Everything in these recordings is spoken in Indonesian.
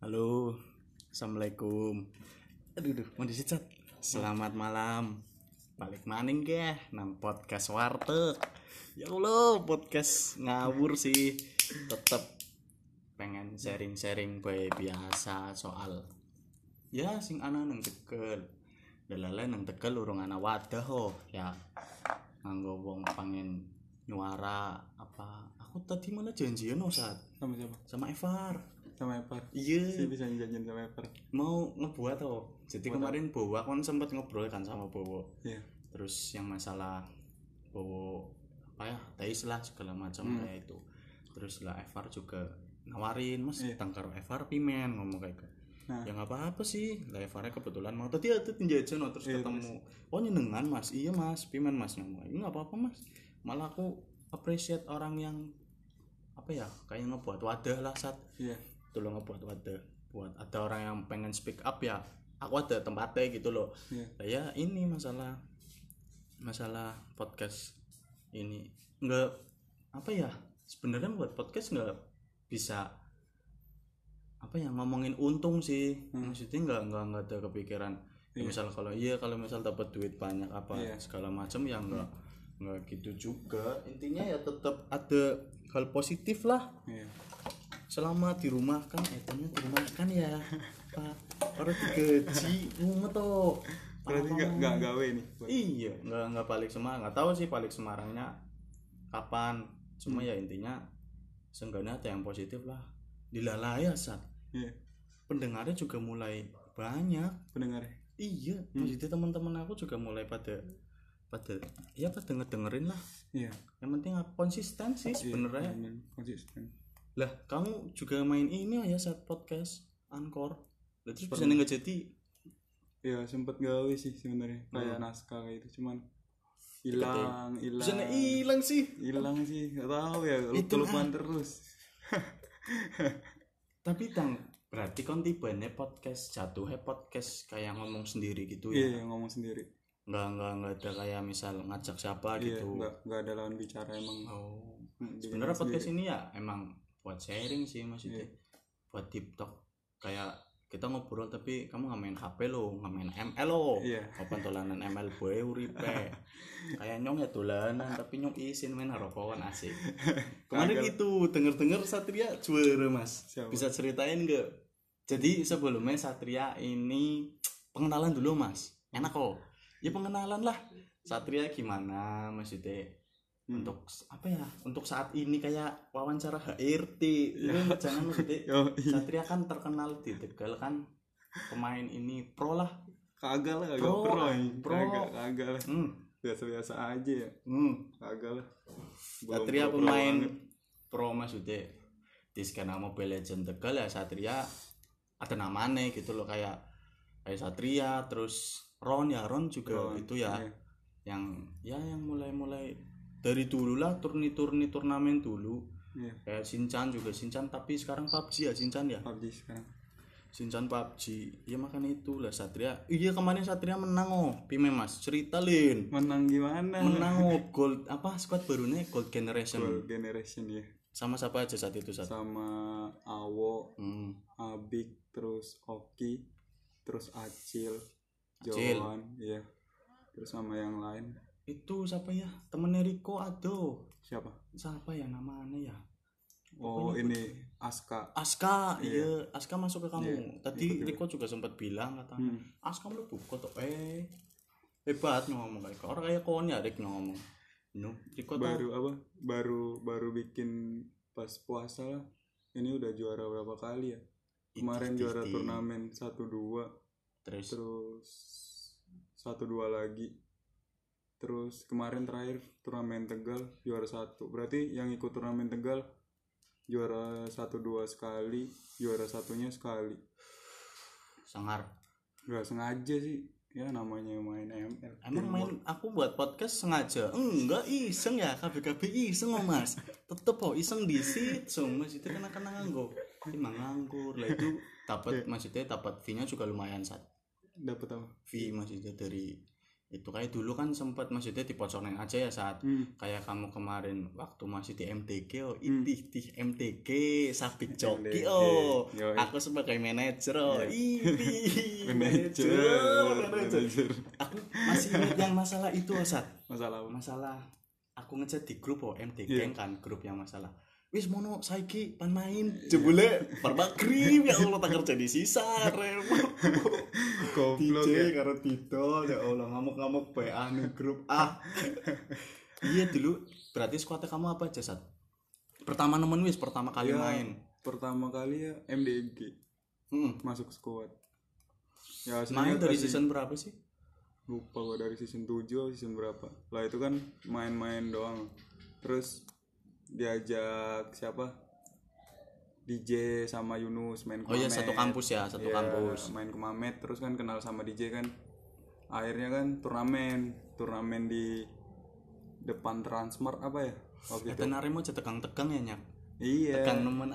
Halo, assalamualaikum. Aduh, mau disicat. Selamat malam. Balik maning ke nang podcast warteg. Ya Allah, podcast ngawur sih. Tetep pengen sharing-sharing bae biasa soal ya sing ana nang Tegal. Delale nang Tegal urung ana wadah ya. Nganggo wong pengen nyuara apa. Aku tadi malah janjian saat Sama siapa? sama Evar. Sama Epar. Iya. Saya bisa janjian sama Epar. Mau ngebuat jadi kemarin Bowo kan sempat ngobrol kan sama Bowo. Iya. Terus yang masalah Bowo apa ya teis lah segala macam kayak itu. Terus lah Evar juga nawarin mas tangkar Evar pimen ngomong kayak gitu. Nah. Ya nggak apa-apa sih lah Evarnya kebetulan mau tadi ada tinjajan terus ketemu oh nyenengan mas iya mas pimen mas ngomong ini nggak apa-apa mas malah aku appreciate orang yang apa ya kayak ngebuat wadah lah saat tolong ngebuat wadah buat ada orang yang pengen speak up ya aku ada tempatnya gitu loh ya ini masalah podcast ini nggak apa ya sebenarnya buat podcast nggak bisa apa ya ngomongin untung sih maksudnya nggak ada kepikiran ya, misal kalau misal dapat duit banyak apa segala macam ya nggak gitu juga intinya ya tetap ada hal positif lah selama di rumah kan etanya di rumah kan ya pak orang digaji rumah toh berarti nggak gawe nih iya nggak balik Semarang nggak tahu sih balik Semarangnya kapan cuma ya intinya seenggaknya ada yang positif lah dilalaya saat pendengarnya juga mulai banyak pendengarnya iya maksudnya teman-teman aku juga mulai pada ngedengerin lah yang penting konsisten sih sebenarnya konsisten lah kamu juga main ini ya saat podcast Anchor terus bisa nggak jadi ya sempet gawe sih sebenarnya kayak naskah kayak itu cuman hilang bisa hilang sih nggak tahu ya kelupaan terus tapi berarti kan tibanya podcast jatuhnya podcast kayak ngomong sendiri gitu ya ngomong sendiri nggak ada kayak misal ngajak siapa gitu nggak ada lawan bicara emang sebenarnya podcast ini ya emang buat sharing sih maksudnya buat TikTok kayak kita ngobrol tapi kamu nggak main HP lo nggak main ML lo kapan dolanan ML boy uripe kayak nyong ya dolanan tapi nyong isin main harokawan asik kemarin gitu denger Satria juara mas bisa ceritain nggak jadi sebelumnya Satria ini pengenalan dulu mas enak kok ya pengenalan lah Satria gimana maksudnya untuk apa ya untuk saat ini kayak wawancara HRT jangan maksudnya Satria kan terkenal di Tegal kan pemain ini pro lah kagak lah biasa aja ya kagak lah Satria pemain pro maksudnya di skena Mobile Legends Tegal ya Satria ada namanya gitu loh kayak Satria terus Ron juga itu ya yang mulai dari dulu lah turnamen dulu kayak Shinchan tapi sekarang PUBG ya Shinchan ya PUBG sekarang Shinchan PUBG ya makanya itu lah Satria kemarin Satria menang Pime mas cerita Lin menang gimana gold apa squad barunya Gold Generation ya sama siapa aja saat itu sama Awo Abik terus Oki terus Acil Johan terus sama yang lain itu siapa ya temennya Riko siapa ya namanya ya ini Aska Aska masuk ke kamu tadi Riko juga sempat bilang katanya Aska lu buka tuh hebat ngomong kayak orang kayak konya Rik ngomong Riko baru bikin pas puasa lah ini udah juara berapa kali ya kemarin juara turnamen 1-2 terus 1-2 lagi terus kemarin terakhir turnamen Tegal juara 1 berarti yang ikut turnamen Tegal juara 1-2 sekali juara satunya sekali sangar nggak sengaja sih ya namanya main ML emang main aku buat podcast sengaja enggak iseng ya KB iseng mas tetep iseng disit mas itu kena nganggur emang nganggur lah itu dapat maksudnya dapat fee-nya juga lumayan saat dapat apa fee maksudnya dari Itu kayak dulu kan sempat maksudnya dipocorin aja ya saat kayak kamu kemarin waktu masih di MTG di MTG Sabit Joki aku sebagai manajer manajer aku masih ingat yang masalah itu saat masalah aku ngechat di grup MTG kan grup yang masalah wis mono saiki pan main jebule Parbakrim ya Allah tak kerja di sisa goblok ya karo Tito ya Allah ngamuk-ngamuk PA nih grup iya dulu berarti skuadnya kamu apa aja Sat? Pertama kali main pertama kali ya MDG masuk skuad ya main dari season berapa sih? Lupa gua dari season 7 atau season berapa lah itu kan main-main doang terus diajak siapa DJ sama Yunus main ke Mamet. Oh iya satu kampus kampus main ke Mamet terus kan kenal sama DJ kan akhirnya kan turnamen di depan Transmart apa ya waktu itu tenaremu aja tegang-tegang ya nyak iya tegang nemen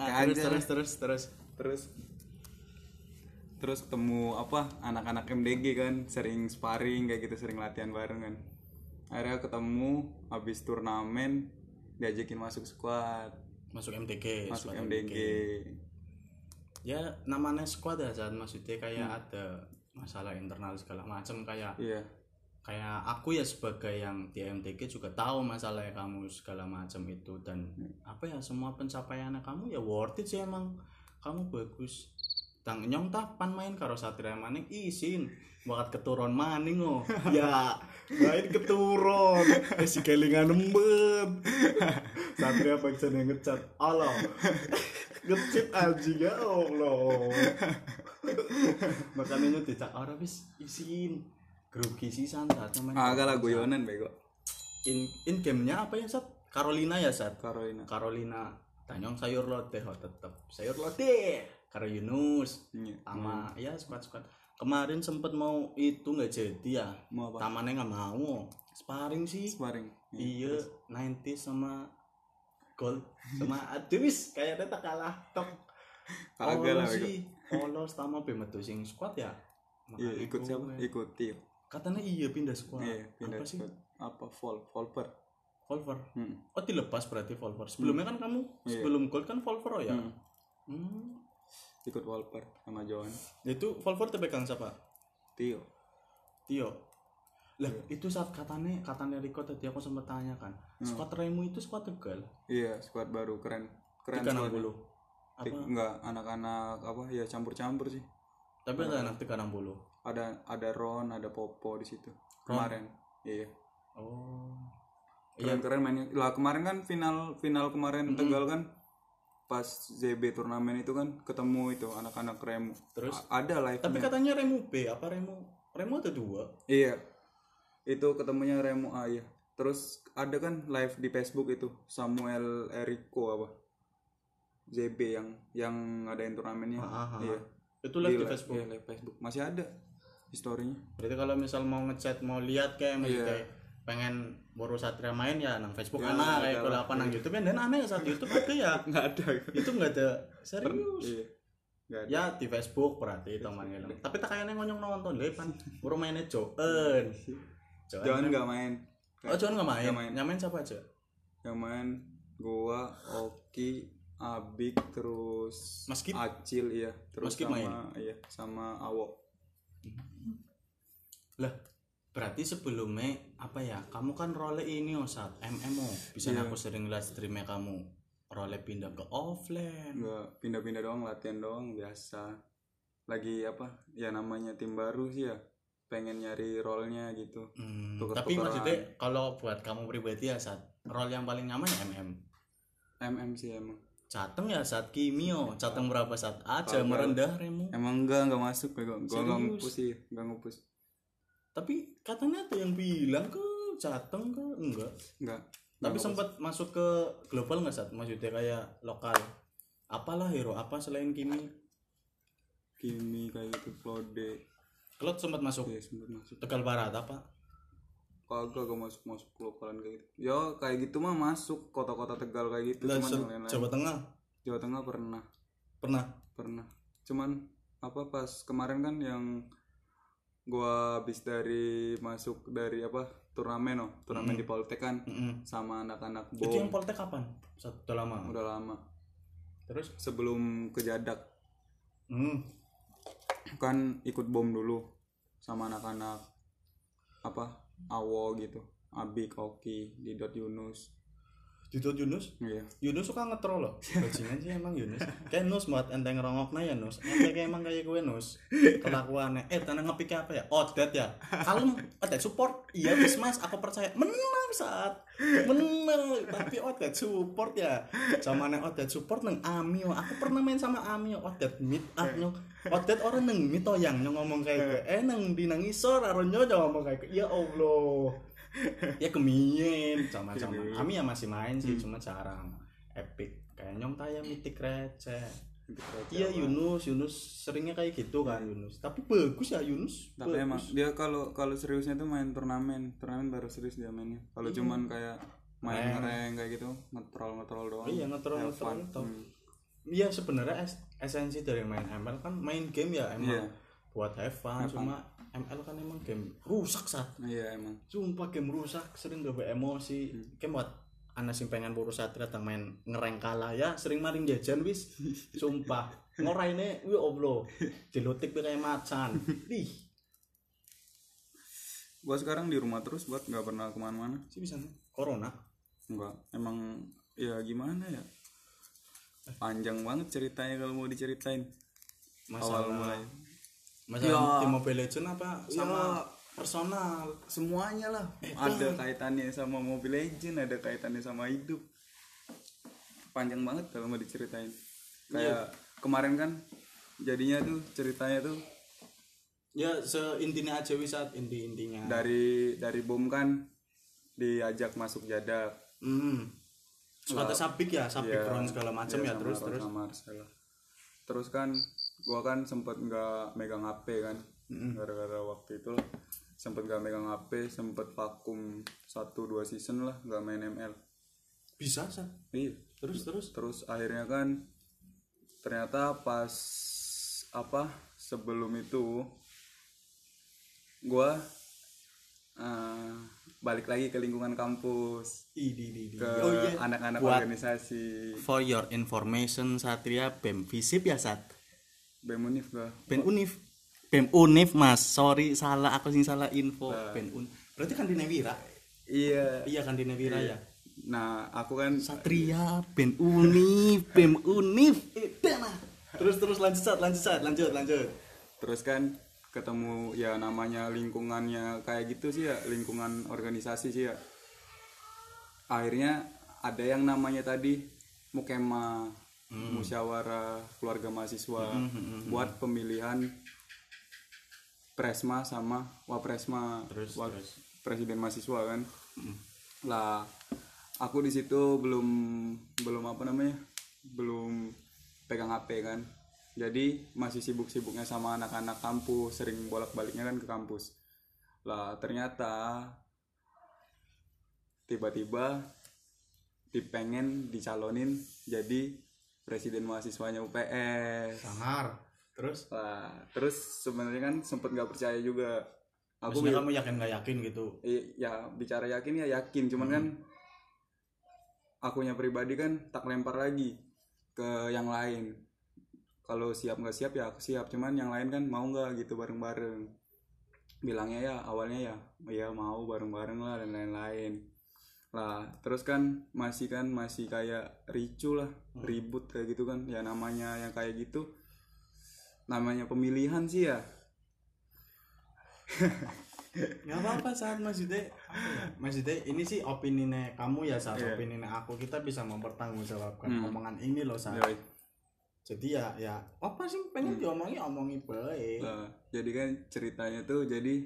terus ketemu apa anak-anak MDG kan sering sparring kayak gitu sering latihan bareng kan akhirnya ketemu habis turnamen diajakin masuk squad masuk MTG ya namanya squad ya saat maksudnya kayak ada masalah internal segala macam kayak kayak aku ya sebagai yang di MTG juga tahu masalah kamu segala macam itu dan apa ya semua pencapaiannya kamu ya worth it sih emang kamu bagus tang nyong tah pan main karo Satria Maning isin bakat keturun maning ya main keturun si kelingan embet Satria pancen yang ngecat Allah ngecit aja ya Allah makanya dicak orang bis isin grogi sisan saat main agak lah guyonan bego in game-nya apa ya Sat? Carolina ya Sat? Carolina tanyong sayur lodeh tetep sayur lodeh karo Yunus sama ya squad kemarin sempet mau itu nggak jadi ya tamannya nggak mau sparring iya 90 sama gold sama Adwis kayaknya tak kalah tok kagak lah sih polos sama bemetu sing squad ya iya ikut siapa ikuti katanya iya pindah squad pindah apa squad apa Volver oh dilepas berarti Volver sebelumnya kan kamu sebelum gold kan Volver ya ikut Volver sama Johan itu Volver terpegang siapa? Tio lah itu saat katanya Rico tadi aku sempat tanya kan squad Remu itu squad Tegal iya squad baru keren 360 apa? Enggak anak-anak apa ya campur sih tapi ada anak 360 ada Ron ada Popo di situ kemarin iya keren mainnya lah kemarin kan final kemarin Tegal kan pas ZB turnamen itu kan ketemu itu anak-anak Remu terus ada live tapi katanya Remu B apa Remu ada 2 iya itu ketemunya Remu A ya terus ada kan live di Facebook itu Samuel Eriko apa ZB yang ngadain turnamennya iya itu live di Facebook iya, live Facebook masih ada historinya berarti kalau misal mau ngechat mau lihat kayak kayak pengen baru Satria main ya nang Facebook kayak kalau apa nang YouTube dan aneh saat YouTube ada ya nggak ada YouTube nggak ada serius iya. Ya di Facebook berarti teman ngilang tapi tak kayaknya ngonyong nonton deh pan baru mainnya Joan nggak main Joan nggak main yang main siapa aja yang main gua Oki Abik terus Maskip Acil iya terus Maskip sama main. Iya sama Awo lah berarti sebelumnya apa ya kamu kan role ini saat MMO bisa aku sering lihat streamnya kamu role pindah ke offline enggak pindah-pindah doang latihan doang biasa lagi apa ya namanya tim baru sih ya pengen nyari role-nya gitu tapi maksudnya kalau buat kamu pribadi ya saat role yang paling nyaman ya MM sih emang Cateng ya saat Kimio Cateng berapa saat aja merendah Remu emang enggak masuk gue enggak ngupus sih enggak ngupus tapi katanya ada yang bilang ke Cateng ke enggak tapi sempat masuk ke global nggak saat maksudnya kayak lokal apalah hero apa selain Kimi kayak gitu Claude sempat masuk Tegal Barat apa kagak masuk lokalan kayak gitu ya kayak gitu mah masuk kota-kota Tegal kayak gitu cuman Jawa Tengah pernah cuman apa pas kemarin kan yang gua habis masuk dari turnamen di Poltek kan, sama anak-anak BOM. Itu yang Poltek kapan? Udah lama. Terus sebelum ke Jadak. Kan ikut BOM dulu sama anak-anak Awo gitu, Abik, Oki, Didot, Yunus. Iya. Yunus suka ngetrol loh. Bajingan sih emang Yunus. Kayak Nus buat enteng rongokna ya Nus. Ente kayak emang kayak gue Nus. Kelakuannya. Tanah ngepiknya apa ya? Odet ya. Kalem, Odet support. Iya wis Mas, aku percaya. Menang saat. Menang. Tapi Odet support ya. Zamane Odet support nang Amio. Aku pernah main sama Amio. Odet meet up nyong. Odet orang nang mitoyang nyong ngomong kayak gue. Nang dinangisor aronyo ngomong kayak gue. Ya Allah. Ya kemien sama-sama kami ya masih main sih, cuma jarang epic kayak nyong taya mitik receh. Iya Yunus seringnya kayak gitu kan Yunus, tapi bagus ya Yunus. Tapi bagus. Emang dia kalau seriusnya tuh main turnamen baru serius dia mainnya. Kalau cuman kayak main ngereng kayak gitu, ngetrol doang. Iya ngetrol toh. Iya sebenarnya esensi dari main ML kan main game ya emang buat have fun, cuma ML kan emang game rusak saat. Iya emang. Sumpah game rusak, sering gawe emosi. Kayak buat anak sing pengen boros satria tang main ngereng kalah ya, sering maring jajan wis. Sumpah. Ngoraine wi oblo. Dilotik kayak macan. Ih. Gua sekarang di rumah terus buat enggak pernah kemana mana. Sih bisa corona. Enggak. Emang ya gimana ya? Panjang banget ceritanya kalau mau diceritain. Masalah awal mulai. Masalah tim Mobile Legends apa sama personal semuanya lah. Ada kaitannya sama Mobile Legends, ada kaitannya sama hidup. Panjang banget kalau mau diceritain. Kayak kemarin kan jadinya tuh ceritanya tuh ya seintinya aja wisat intinya. Dari BOM kan diajak masuk Jadak. Kata Sabik Ron segala macam ya terus. Terus kan gua kan sempet nggak megang HP kan, gara-gara waktu itu sempet nggak megang HP, sempet vakum 1-2 season lah nggak main ML. Bisa sih. Iya. Terus akhirnya kan ternyata pas sebelum itu gua balik lagi ke lingkungan kampus. Ke anak-anak organisasi. For your information Satria BEM Visip ya Sat. BEM Unif gua. BEM Unif Mas. Sorry salah aku sing salah info. BEM Unif. Berarti kan di Newira. Iya. Iya kan di Newira ya. Nah, aku kan Satria BEM Unif. Terus lanjut. Terus kan ketemu ya namanya lingkungannya kayak gitu sih ya, lingkungan organisasi sih ya. Akhirnya ada yang namanya tadi Mukema, musyawarah keluarga mahasiswa buat pemilihan Presma sama Wapresma, terus. Presiden mahasiswa kan. Lah aku di situ belum pegang HP kan. Jadi masih sibuk-sibuknya sama anak-anak kampus, sering bolak-baliknya kan ke kampus. Lah ternyata tiba-tiba dipengen dicalonin jadi presiden mahasiswanya UPS. Sangar. Terus sebenarnya kan sempet nggak percaya juga. Kamu yakin nggak yakin gitu? Ya bicara yakin ya yakin, cuman kan akunya pribadi kan tak lempar lagi ke yang lain. Kalau siap nggak siap ya aku siap, cuman yang lain kan mau nggak gitu bareng-bareng. Bilangnya ya awalnya ya mau bareng-bareng lah dan lain-lain. Lah terus kan masih kayak ricu lah, ribut kayak gitu kan. Ya namanya yang kayak gitu namanya pemilihan sih ya. Nggak apa-apa saat maksudnya ini sih opini kamu ya saat opini aku, kita bisa mempertanggungjawabkan omongan ini loh saat. Jadi ya apa sih pengen omongin baik. Jadi kan ceritanya tuh jadi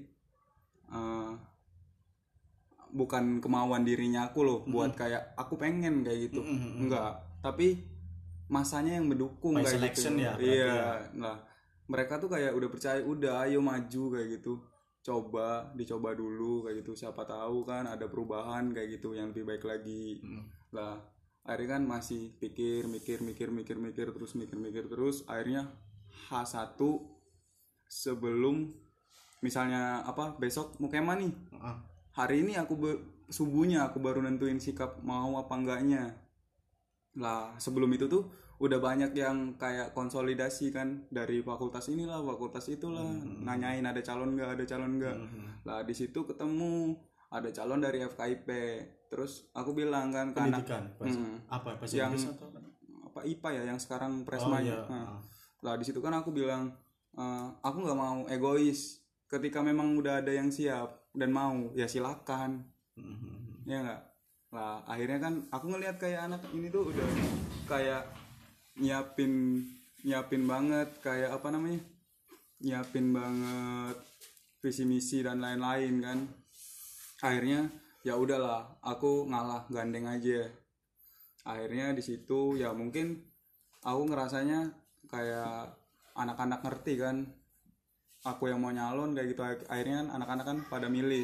bukan kemauan dirinya aku loh buat kayak aku pengen kayak gitu. Enggak, tapi masanya yang mendukung kayak selection gitu. Ya, iya. Nah, mereka tuh kayak udah percaya, udah ayo maju kayak gitu. Dicoba dulu kayak gitu. Siapa tahu kan ada perubahan kayak gitu yang lebih baik lagi. Lah akhirnya kan masih mikir terus akhirnya H1 sebelum misalnya besok mau kemah nih, hari ini subuhnya aku baru nentuin sikap mau apa enggaknya lah. Sebelum itu tuh udah banyak yang kayak konsolidasi kan, dari fakultas inilah fakultas itulah, nanyain ada calon nggak lah. Di situ ketemu ada calon dari FKIP, terus aku bilang kan ke anak apa yang IPA ya, yang sekarang presmanya. Lah di situ kan aku bilang aku nggak mau egois, ketika memang udah ada yang siap dan mau ya silakan. Ya nggak lah, akhirnya kan aku ngelihat kayak anak ini tuh udah kayak nyiapin banget, kayak nyiapin banget visi misi dan lain-lain kan. Akhirnya ya udahlah, aku ngalah, gandeng aja. Akhirnya di situ ya mungkin aku ngerasanya kayak anak-anak ngerti kan aku yang mau nyalon kayak gitu. Akhirnya kan anak-anak kan pada milih.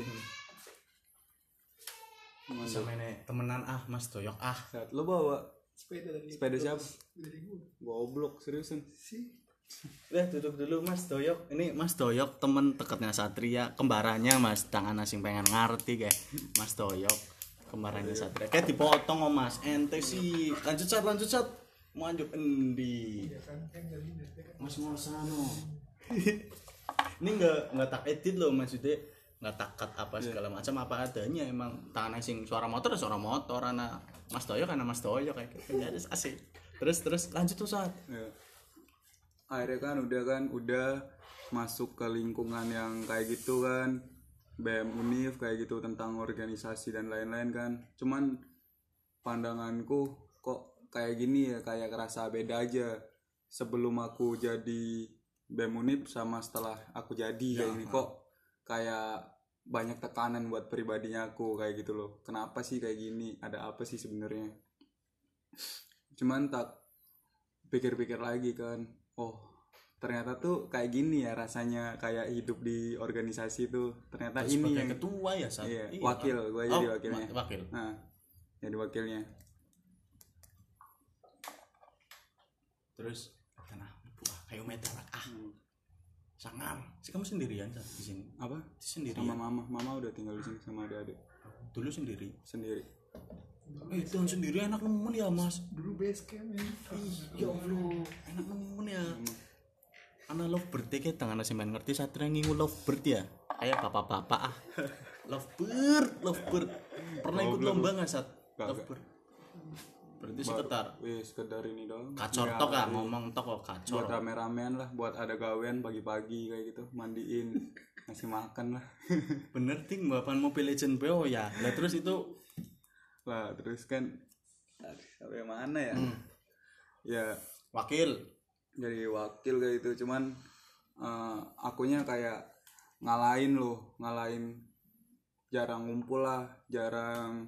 Sama ini temenan Mas Doyok Lo bawa sepeda siapa? Goblok, seriusan sih. Udah duduk dulu Mas Doyok. Ini Mas Doyok temen dekatnya Satria, kembarannya Mas. Tangan asing pengen ngerti kayak Mas Doyok kembarannya Satria. Kayak dipotong Mas. Ente sih. Lanjut Sat. Mau lanjut endi? Mas Ngosano. Ini enggak tak edit loh maksudnya. Nggak takat apa segala macam, apa adanya. Emang tangan asing suara motor anak Mas Doyok karena Mas Doyok kayak gitu asik. Terus lanjut tuh Saat. Akhirnya kan udah masuk ke lingkungan yang kayak gitu kan, BEM Univ kayak gitu, tentang organisasi dan lain-lain kan. Cuman pandanganku kok kayak gini ya, kayak kerasa beda aja sebelum aku jadi BEM Univ sama setelah aku jadi kayak gini. Kok kayak banyak tekanan buat pribadinya aku kayak gitu loh. Kenapa sih kayak gini? Ada apa sih sebenarnya? Cuman tak pikir-pikir lagi kan, oh ternyata tuh kayak gini ya rasanya kayak hidup di organisasi tuh. Ternyata terus ini yang ketua ya Sat? Iya, wakil, gue jadi wakilnya. Nah, jadi wakilnya. Terus kayak meter sangar. Kamu sendirian Sat di sini? Apa? Sendiri. Sama mama udah tinggal di sini sama adik-adik. Dulu sendiri. Itu yang sendiri enak nemen ya Mas. Dulu base camp ya. Ya Allah, enak nemen ya. Anak lovebird kayak tangan nasi main ngerti Satria ngingu lovebird ya. Kayak bapak-bapak Lovebird. Pernah ikut lomba enggak Sat? Lovebird. Berarti sekedar ini dong. Kacor ya, tok lah, ngomong tok kok kacor. Buat rame-ramean lah, buat ada gawean pagi-pagi kayak gitu, mandiin, ngasih makan lah. Bener ting, bapak Mobile Legend BO ya. Lah terus itu terus kan sampai mana ya? Ya wakil. Jadi wakil kayak gitu, cuman akunya kayak ngalahin jarang ngumpul lah, jarang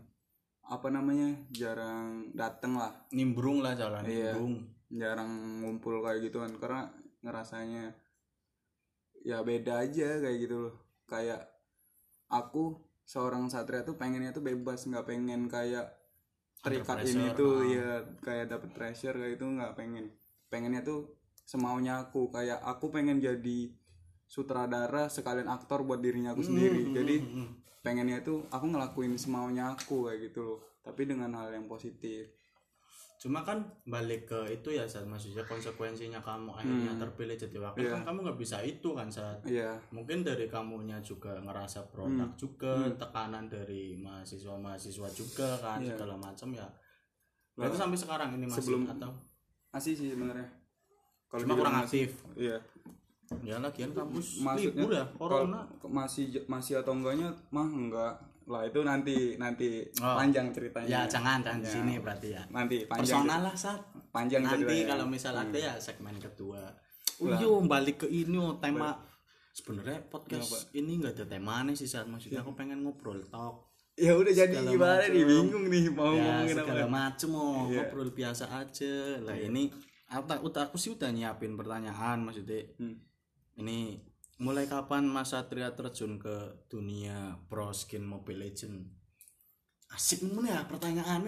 dateng lah, nimbrung lah jalan. Iya, jarang ngumpul kayak gitu kan, karena ngerasanya ya beda aja kayak gitu loh. Kayak aku seorang Satria tuh pengennya tuh bebas, nggak pengen kayak terikat ini tuh ya, kayak dapet pressure kayak itu nggak pengennya tuh semaunya aku. Kayak aku pengen jadi sutradara sekalian aktor buat dirinya aku sendiri. Jadi pengennya tuh aku ngelakuin semaunya aku kayak gitu loh, tapi dengan hal yang positif. Cuma kan balik ke itu ya Sat, maksudnya konsekuensinya kamu akhirnya terpilih jadi wakil kan kamu nggak bisa itu kan Sat. Mungkin dari kamunya juga ngerasa produk juga, tekanan dari mahasiswa juga kan, segala macam ya. Berarti sampai sekarang ini masih atau masih sih sebenarnya. Cuma kurang aktif. Iya. Ya lagian kampus libur ya, corona. Masih atau enggaknya enggak lah, itu nanti panjang ceritanya. Ya jangan di sini berarti ya. Nanti panjang. Personal lah Sat. Panjang nanti kalau misal ada ya segmen kedua. Balik ke ini tema. Sebenarnya podcast ini enggak ada temanya sih Sat, maksudnya aku pengen ngobrol talk. Ya udah jadi gimana nih, bingung nih mau ngomongin apa. Segala macem ngobrol biasa aja. Lah ini aku sih udah nyiapin pertanyaan maksudnya. Ini mulai kapan Mas Satria terjun ke dunia pro skin Mobile Legend? Asik ya pertanyaannya.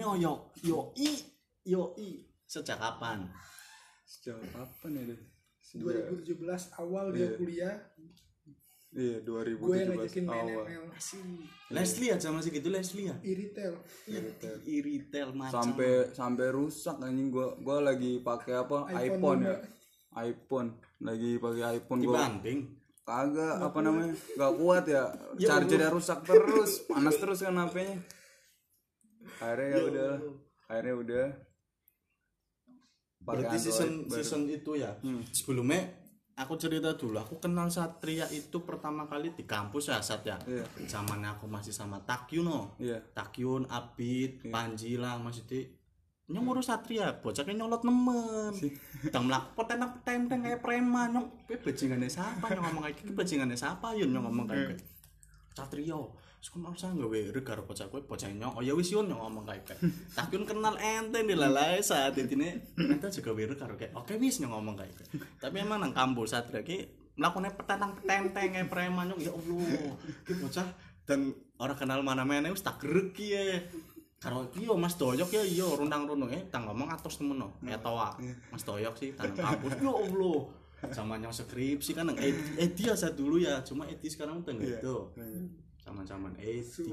Yoi. Sejak kapan ya? 2017 awal dia kuliah. Iya 2017 gue ngajakin main awal. ML Leslie aja masih gitu, Leslie ya. Iritel macam. Sampai rusak anjing. Gua lagi pakai apa? iPhone ya. iPhone. Lagi pakai iPhone gua. Dibanding Kagak apa namanya? Gak kuat ya. Chargernya rusak terus, panas terus kan HP-nya. Akhirnya udah. Berarti season itu ya. Sebelumnya aku cerita dulu, aku kenal Satria itu pertama kali di kampus ya, Sat ya. Zamannya aku masih sama Takyun Takyun, Abid, Panji lah maksudnya. Nyong urus Satria, bocahnya nyolot nemen. Dang mlaku peteng kayak preman, nyong bajingane siapa nyong ngomong kayak gitu, bajingane siapa yun nyong ngomong kayak gitu. Satria, sekolah usah gawe karo bocah kowe, bocah nyong. Oh ya wis yun nyong ngomong kayak gitu. Takyun kenal ente dilalai saat intine ente juga weru karo kayak oke wis nyong ngomong kayak gitu. Tapi emang nang kampus Satria ki mlakune peteng kayak preman nyong, ya Allah. Ki bocah dan orang kenal mana-mana wis tak gerek ki ya. Karo iki yo Mas Doyok ya iya rundang-rundung tang ngomong atos temen no. Etoa. Mas Doyok sih tang kampus. Ya Allah. Zaman yang skripsi kan nang Edi aja dulu ya. Cuma Edi sekarang udah gitu. Zaman-zaman Edi.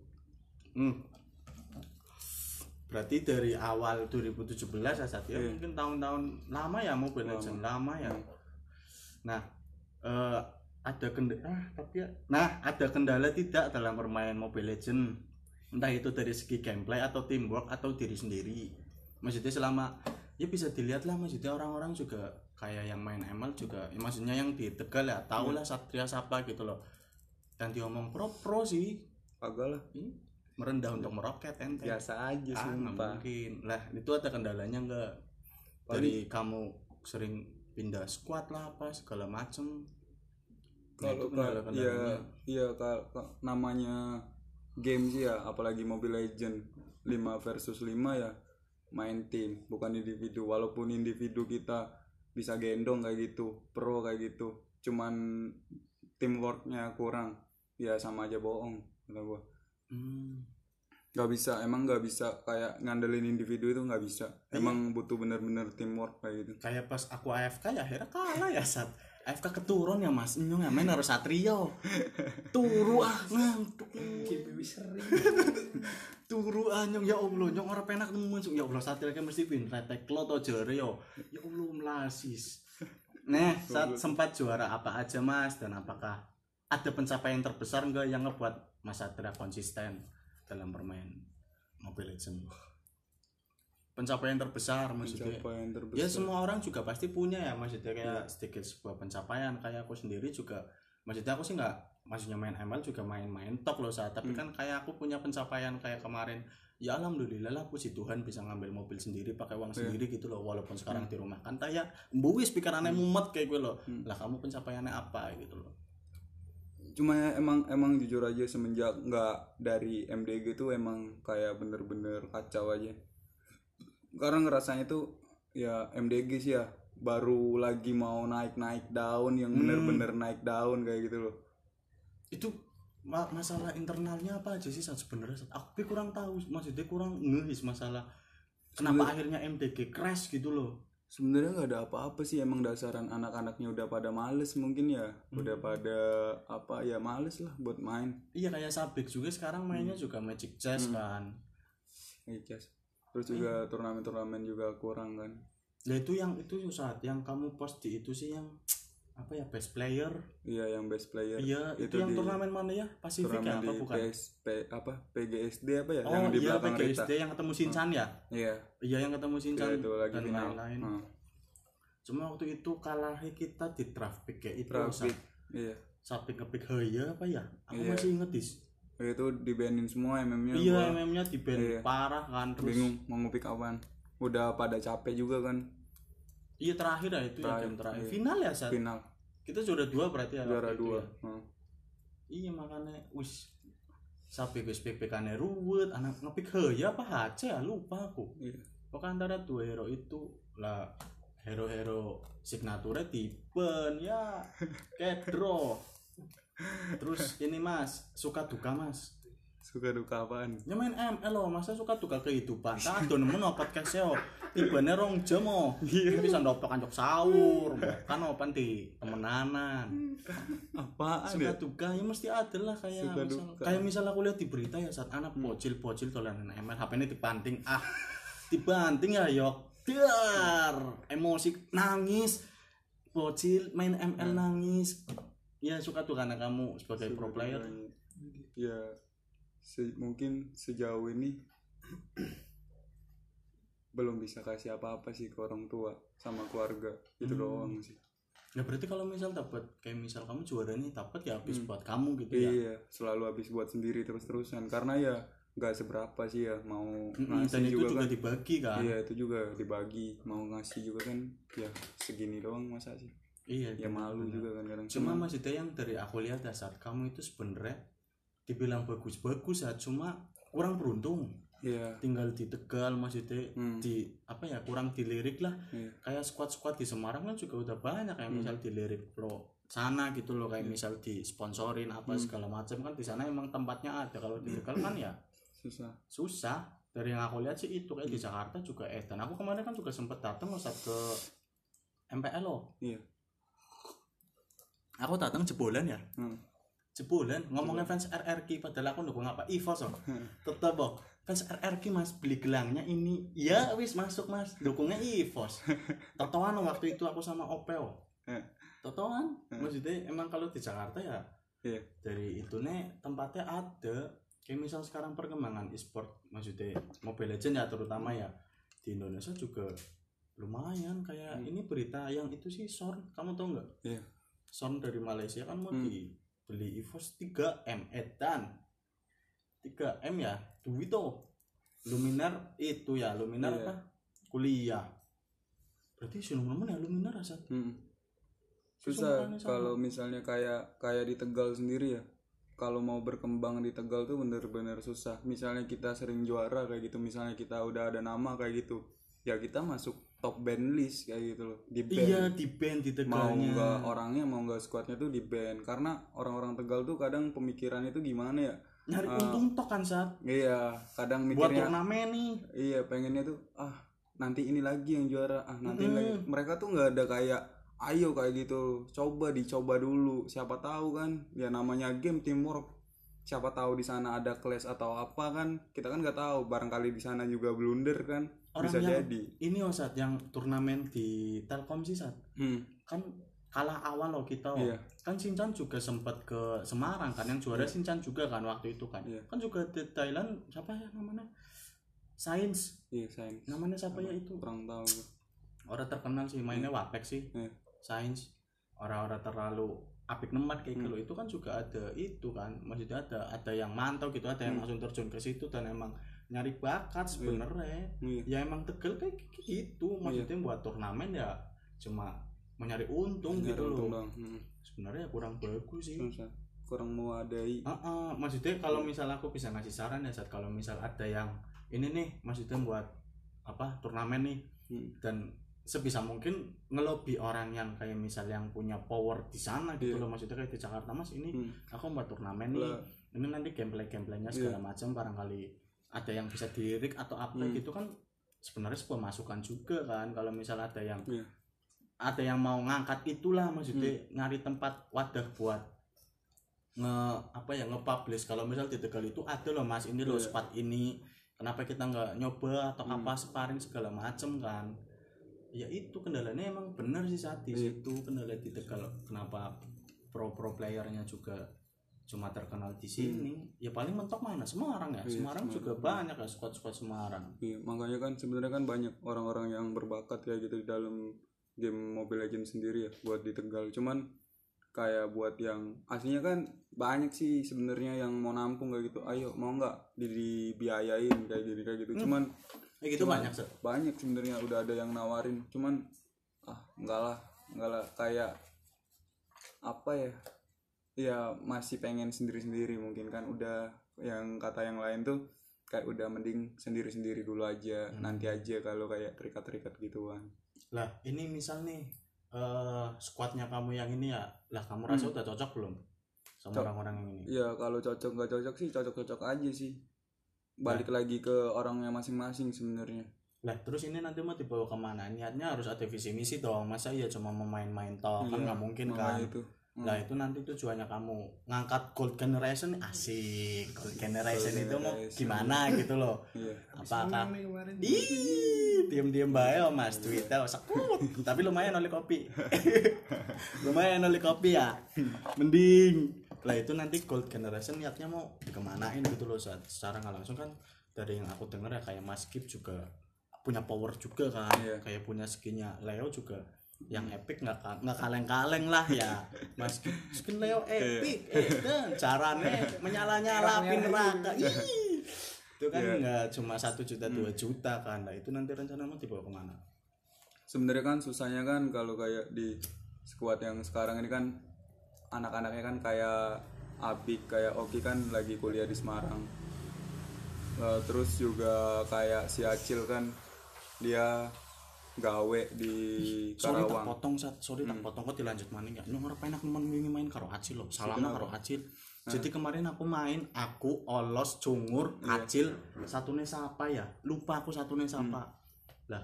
Berarti dari awal 2017 ya Sat ya. Mungkin tahun-tahun lama ya Mobile Legends lama ya. Nah, ada kendala tidak dalam bermain Mobile Legends? Entah itu dari segi gameplay atau teamwork atau diri sendiri. Maksudnya selama ya bisa dilihat lah, maksudnya orang-orang juga kayak yang main ML juga ya, maksudnya yang di Tegal ya tahu lah Satria siapa gitu loh. Dan diomong pro sih agak lah merendah untuk meroket ente. Biasa aja sumpah. Mungkin lah itu ada kendalanya enggak dari kamu sering pindah squad lah apa segala macem. Kalau namanya game sih ya, apalagi Mobile Legends 5 versus 5 ya main tim bukan individu. Walaupun individu kita bisa gendong kayak gitu, pro kayak gitu, cuman teamworknya kurang ya sama aja bohong kata gua. Gak bisa kayak ngandelin individu itu nggak bisa. Emang butuh bener-bener teamwork kayak gitu. Kayak pas aku AFK ya akhirnya kalah ya Sat. AFK keturun ya Mas, nyong ya main harus Satrio. Turu ngantuk. GBW sering. Turu nyong ya Allah, nyong ora penak nemen ya Allah Satrio kan mesti win rate klo to jare yo. Ya Allah melasis. Nah, saat sempat juara apa aja Mas dan apakah ada pencapaian terbesar enggak yang ngebuat Mas Satria konsisten dalam bermain Mobile Legends? Pencapaian terbesar maksudnya. Ya semua orang juga pasti punya ya maksudnya kayak sedikit sebuah pencapaian. Kayak aku sendiri juga maksudnya aku sih nggak maksudnya main ML juga main tok loh saat tapi kan kayak aku punya pencapaian kayak kemarin ya alhamdulillah lah puji Tuhan bisa ngambil mobil sendiri pakai uang sendiri gitu loh walaupun sekarang di rumah kan kayak mbuwis pikirannya mumet kayak gue loh lah kamu pencapaiannya apa gitu loh. Cuma emang jujur aja semenjak nggak dari MDG tuh emang kayak bener-bener kacau aja. Karena ngerasanya tuh ya MDG sih ya baru lagi mau naik daun yang bener-bener naik daun kayak gitu loh. Itu masalah internalnya apa aja sih sebenarnya? Aku kurang tahu, maksudnya kurang ngehis masalah kenapa akhirnya MDG crash gitu loh. Sebenarnya nggak ada apa-apa sih, emang dasaran anak-anaknya udah pada males mungkin ya, udah pada apa ya males lah buat main. Iya kayak Sabik juga sekarang mainnya juga Magic Chess kan. Magic Chess. Terus juga turnamen juga kurang kan. Nah itu saat yang kamu post di itu sih yang apa ya best player. Iya yang best player. Iya itu yang turnamen mana ya? Pasifik ya apa bukan? PGSD apa ya? Oh yang di iya belakang PGSD Rita. Yang ketemu Shinchan ya? Iya. Iya yang ketemu Shinchan itu lagi dan final. lain-lain. Cuma waktu itu kalah kita di draft pick ya itu. Iya. Sabik ngepick Haya apa ya? Aku masih inget dis. Itu dibanin semua MM-nya. Iya MM-nya di-ban parah kan terus. Bingung mau ngepick apaan. Udah pada capek juga kan. Iya terakhir ya itu ya game terakhir. Iya. Final ya saat. Final. Kita juara 2 berarti ya. Juara 2. Ya. Iya makanya wis sampai PPK-nya ruwet, anak ngepick Haya apa aja lupa aku. Iya. Pokoknya antara dua hero itu lah hero-hero signature di-ban ya kayak draw. Terus ini Mas, suka duka Mas Suka duka apaan? Ya main ML loh, masa suka duka kehidupan. Tak do nemu no podcast yo. Tibane 2 jam oh. Bisa ndopok kancok sahur, kan open di temenanan. Apaan suka duka ya mesti ada lah kayak misal aku lihat di berita ya saat anak bocil dolanan ML, HP-nya dibanting ya yok. Dar, emosi nangis. Bocil main ML nangis. Ya suka duka karena kamu sebagai pro player. Ya mungkin sejauh ini belum bisa kasih apa-apa sih ke orang tua sama keluarga itu doang sih. Ya berarti kalau misal dapat kayak misal kamu juara nih dapat ya habis buat kamu gitu ya. Iya, selalu habis buat sendiri terus-terusan karena ya nggak seberapa sih ya mau ngasih dan itu juga kan, dibagi kan. Iya itu juga dibagi, mau ngasih juga kan ya segini doang masa sih. Iya ya malu juga kan kadang. Cuma maksudnya yang dari aku lihat saat kamu itu sebenarnya dibilang bagus ya cuma kurang beruntung. Iya. Tinggal di Tegal maksudnya di apa ya kurang dilirik lah. Kayak squad di Semarang kan juga udah banyak kayak misal dilirik pro sana gitu loh kayak misal disponsorin apa segala macam kan di sana emang tempatnya ada. Kalau di Tegal kan ya susah. Dari yang aku lihat sih itu kayak di Jakarta juga dan aku kemarin kan juga sempet datang saat ke MPL loh. Iya. Aku datang jebolan ya. Jebolan ngomongnya fans RRQ padahal aku dukung apa EVOS loh. Tetep kok fans RRQ mas beli gelangnya ini ya wis masuk mas dukungnya EVOS. Totoan waktu itu aku sama Opel. Totoan maksudnya emang kalau di Jakarta ya dari itu nih tempatnya ada kayak misal sekarang perkembangan e-sport maksudnya Mobile Legends ya terutama ya di Indonesia juga lumayan kayak ini berita yang itu sih Sorn kamu tau nggak? Sorn dari Malaysia kan mau dibeli EVOS 3M edan 3M ya duit tuh Luminar itu ya Luminar apa kuliah berarti teman-teman ya Luminar asal susah kalau misalnya kayak di Tegal sendiri ya kalau mau berkembang di Tegal tuh bener-bener susah. Misalnya kita sering juara kayak gitu, misalnya kita udah ada nama kayak gitu ya kita masuk top band list kayak gitu loh di band. Iya di band di Tegalnya mau nggak orangnya mau nggak squadnya tuh di band karena orang-orang Tegal tuh kadang pemikirannya tuh gimana ya nyari untung tok kan saat iya kadang buat mikirnya turnamen nih iya pengennya tuh nanti ini lagi yang juara nanti ini lagi mereka tuh nggak ada kayak ayo kayak gitu dicoba dulu siapa tahu kan ya namanya game teamwork siapa tahu di sana ada clash atau apa kan kita kan nggak tahu barangkali di sana juga blunder kan orang bisa yang, jadi ini saat yang turnamen di Telkom sih saat kan kalah awal loh kita kan Sinchan juga sempat ke Semarang kan yang juara Sinchan juga kan waktu itu kan kan juga di Thailand siapa ya namanya Sains namanya siapa ya itu kurang tahu orang terkenal sih mainnya Wapek sih Sains orang-orang terlalu apik nemat kayak gitu itu kan juga ada itu kan maksudnya ada yang mantau gitu ada yang langsung terjun ke situ dan emang nyari bakat sebenarnya ya emang Tegal kayak gitu maksudnya buat turnamen ya cuma mencari untung gitu loh sebenarnya kurang bagus sih kurang mewadai maksudnya kalau misal aku bisa ngasih saran ya saat kalau misal ada yang ini nih maksudnya buat apa turnamen nih dan sebisa mungkin ngelobi orang yang kayak misal yang punya power di sana gitu loh maksudnya kayak di Jakarta mas ini aku buat turnamen nih ini nanti gameplaynya segala macam barangkali ada yang bisa dilirik atau apa gitu kan sebenarnya sebuah masukan juga kan kalau misal ada yang mau ngangkat itulah maksudnya nyari tempat wadah buat nge-publish kalau misal di Tegal itu ada loh mas ini loh spot ini kenapa kita nggak nyoba atau apa sparring segala macem kan ya itu kendalanya emang bener sih saat di situ kendala di Tegal kenapa pro playernya juga cuma terkenal di sini ya paling mentok mana Semarang ya Semarang juga banyak ya squad Semarang makanya kan sebenarnya kan banyak orang-orang yang berbakat kayak gitu di dalam game Mobile Legends sendiri ya buat di Tegal cuman kayak buat yang aslinya kan banyak sih sebenarnya yang mau nampung kayak gitu ayo mau nggak dibiayain kayak gitu cuman gitu banyak sebenarnya udah ada yang nawarin cuman enggak lah kayak apa ya masih pengen sendiri mungkin kan udah yang kata yang lain tuh kayak udah mending sendiri dulu aja nanti aja kalau kayak terikat gituan lah ini misal nih squadnya kamu yang ini ya lah kamu rasa udah cocok belum sama orang-orang yang ini. Iya, kalau cocok nggak cocok sih cocok-cocok aja sih. Balik lagi ke orangnya masing-masing sebenarnya. Lah terus ini nanti mau dibawa kemana? Niatnya harus ada visi misi dong. Masa iya cuma main-main toh? Kan nggak mungkin kan. Lah itu nanti tujuannya kamu ngangkat gold generation, asik. Gold generation itu mau gimana gitu loh. Apakah diam-diam bae Mas Twitter sekut. Tapi lumayan oleh kopi. Lumayan oleh kopi ya. Mending. Lah itu nanti gold generation niatnya mau dikemanain gitu loh, secara nggak langsung kan. Dari yang aku dengar ya kayak Mas Kip juga punya power juga kan. Kayak punya skinnya Leo juga yang epic nggak kaleng-kaleng lah ya. Mas Kip skin Leo epic caranya menyala-nyalapin neraka. Itu kan nggak cuma 1 juta 2 juta kan. Nah itu nanti rencana mau dibawa kemana? Sebenarnya kan susahnya kan kalau kayak di squad yang sekarang ini kan anak-anaknya kan kayak Apik, kayak Oki kan lagi kuliah di Semarang. Terus juga kayak si Acil kan dia gawe di Karawang. Sorry tak potong kok dilanjut maning ya. Nang ora penak nemen main karo Acil loh. Salahnya karo Acil. Jadi kemarin aku main, aku Olos, Cungur, Acil, satune siapa ya? Lupa aku satune siapa. Lah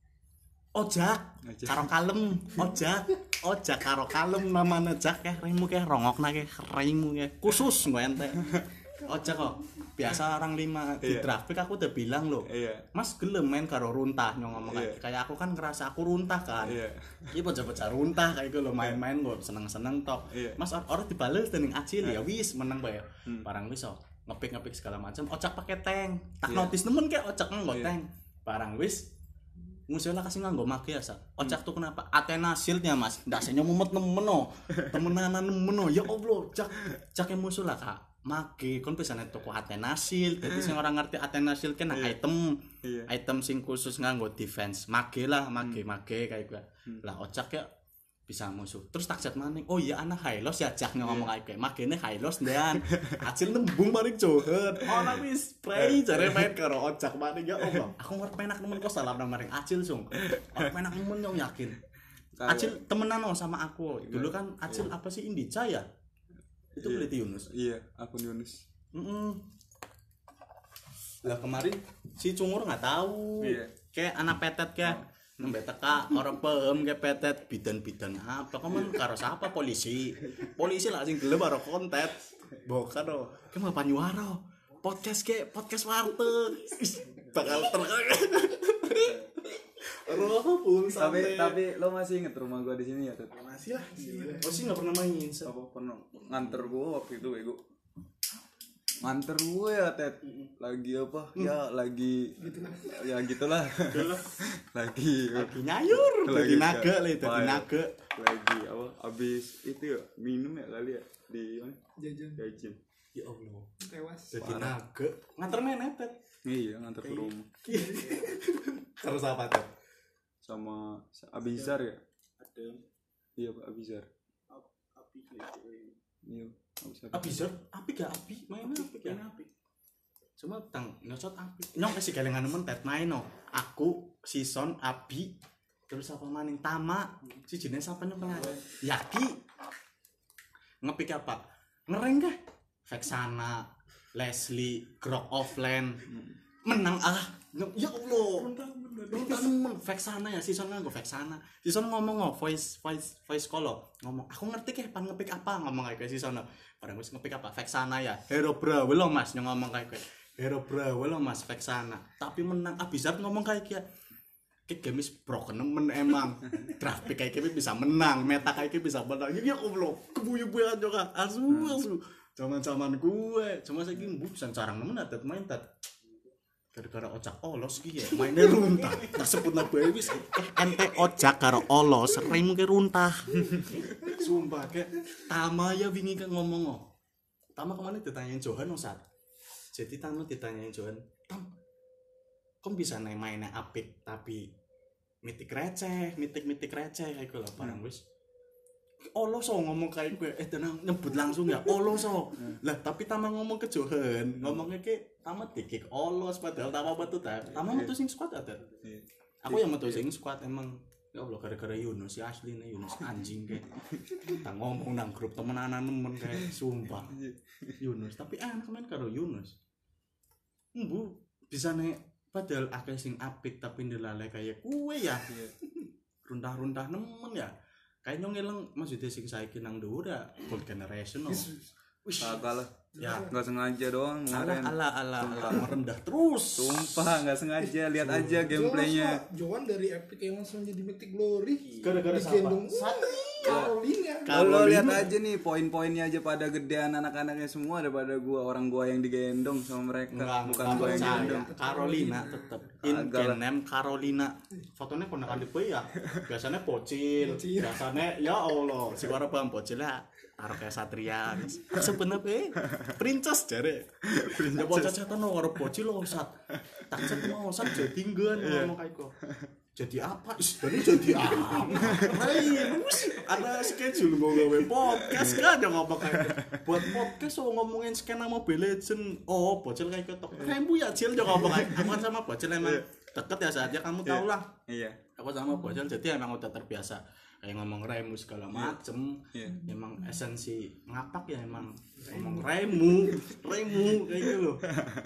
Ojak karo Kalem, Ojak karo Kalem namanya Jak raimu rongokna raimu khusus gue ente. Ojak kok biasa orang 5 di traffic aku udah bilang loh, Mas gelem main karo runtah nyong ngomong kayak aku kan ngerasa aku runtah kan. Iki bocah-bocah runtah kayak gitu loh, main-main gue seneng-seneng tok. Mas orang dibales dening Acil ya wis menang bae. Barang wis ngepik segala macam. Ojak pakai tank. Tak notice nemen kayak Ojak nggo tank. Barang wis musuhnya kasih nganggo make ya sak. Ojak tuh kenapa? Athena Shield-nya Mas. Ndasenya mumet nemen no. Temenanan nemen no. Ya Allah, Jak musuh lah Kak. Make kon bisa nek toko Athena Shield. Dadi sing ora ngerti Athena Shield kan item sing khusus nganggo defense. Make kayak gue. Lah Ojak ya bisa musuh. Terus tak chat maning. Oh iya anak Hylos ya Jak ngomong kayak makene Hylos ndean. Acil nembung maring joget. Ana wis play jare main karo Ojak maning ya Allah. Aku ngerti penak nemen kok salah nang maring Acil sung. Aku penak nemen nyong yakin. Acil temenan sama aku. Dulu kan Acil apa sih Indica ya? Itu beli Yunus. Iya, akun Yunus. Lah kemarin si Cungur enggak tahu. Kayak anak petet kayak nembe teka orang paham kayak petet bidan apa kamu karo siapa polisi lah sing gelem karo konten bukan do ke mah Panyuwaro podcast warteg bakal tapi lo masih inget rumah gua di sini ya Tet? Masih lah sih nggak pernah main apa pernah nganter gua waktu itu bego nganter gue ya Tet lagi apa ya lagi gitu ya gitulah lagi nyayur lagi naga lagi apa abis itu ya minum ya kali ya di jajan ya Allah tewas jadi naga nganter nenek Tet. Iya nganter ke rumah harus apa Tet? Sama Abizar ya ada iya Pak Abizar iya Abizar api main api cuma tang nyocot api nyong kasih galengan nemen Tet main no aku Sison Abi terus apa maning Tama si jenis apa nyong pengen Yaki ngepik apa ngereng kah Vexana Leslie Grok Offline menang ya Allah runtah Vexana ya Sison nganggo Vexana Sison ngomong voice call ngomong aku ngerti keh pan ngepik apa ngomong kayak Sison barang wis ngepik apa Vexana ya Hero Brawl lo Mas yang ngomong kayak Hero Brawl lo Mas Vexana tapi menang Abizar ngomong kayak game is broken nemen emang draft pick kayak bisa menang meta kayak bisa menang ya Allah kebuyu-buyuan juga asu zaman gue cuma saya gini bisa carang nemen adat main tat gara-gara Ojak Olos gitu ya mainnya runtah tak sebut nabi wis ente Ojak karo Olos sering mungkin runtah sumpah kayak Tama ya wingi kan ngomong Tama kemana ditanyain Johan Ustaz jadi Tama ditanyain Johan Tam kok bisa mainnya apik tapi mitik receh kayak gue lah barang wis Olos ngomong kayak gue tenang nyebut langsung ya Olos lah tapi Tama ngomong ke Johan ngomongnya kayak Tama dikik Olos padahal Tama betul Tama metu sing squad ada aku yang metu sing squad emang Ya Allah gara-gara Yunus si asli nih Yunus anjing kayak tak ngomong nang grup temen-temen nemen kayak sumpah Yunus tapi enak main karo Yunus bu bisa nih padahal akeh sing apik tapi ndelale kayak kue ya runtah-runtah nemen ya kayaknya ngeleng maksudnya sing saiki nang dhuwur ya old generation no Kagak lah ya nggak sengaja doang kemarin ala merendah terus sumpah nggak sengaja lihat aja gameplaynya Joan dari Epic yang langsung jadi Mythic Glory gara-gara digendong Carolina kalau lihat aja nih poin-poinnya aja pada gedean anak-anaknya semua daripada gua yang digendong sama mereka bukan gua yang digendong Carolina tetep in name Carolina fotonya ponakan di ya biasanya bocil biasanya ya Allah si warna bang bocil ya taruh kayak Satria sebenarnya princess jare ya bocah cetan no karo bocil lo sat tak cet mau sat jadi nggen ngomong kayak kok jadi apa jadi apa ada schedule gue gawe podcast kan aja ngomong kayak buat podcast so ngomongin skena Mobile Legends bocil kayak ketok rembu ya cil aja ngomong kayak aku sama bocil emang deket ya saatnya kamu tau lah aku sama bocil jadi emang udah terbiasa kayak ngomong remu segala macem emang esensi ngapak ya emang ngomong remu kayak gitu loh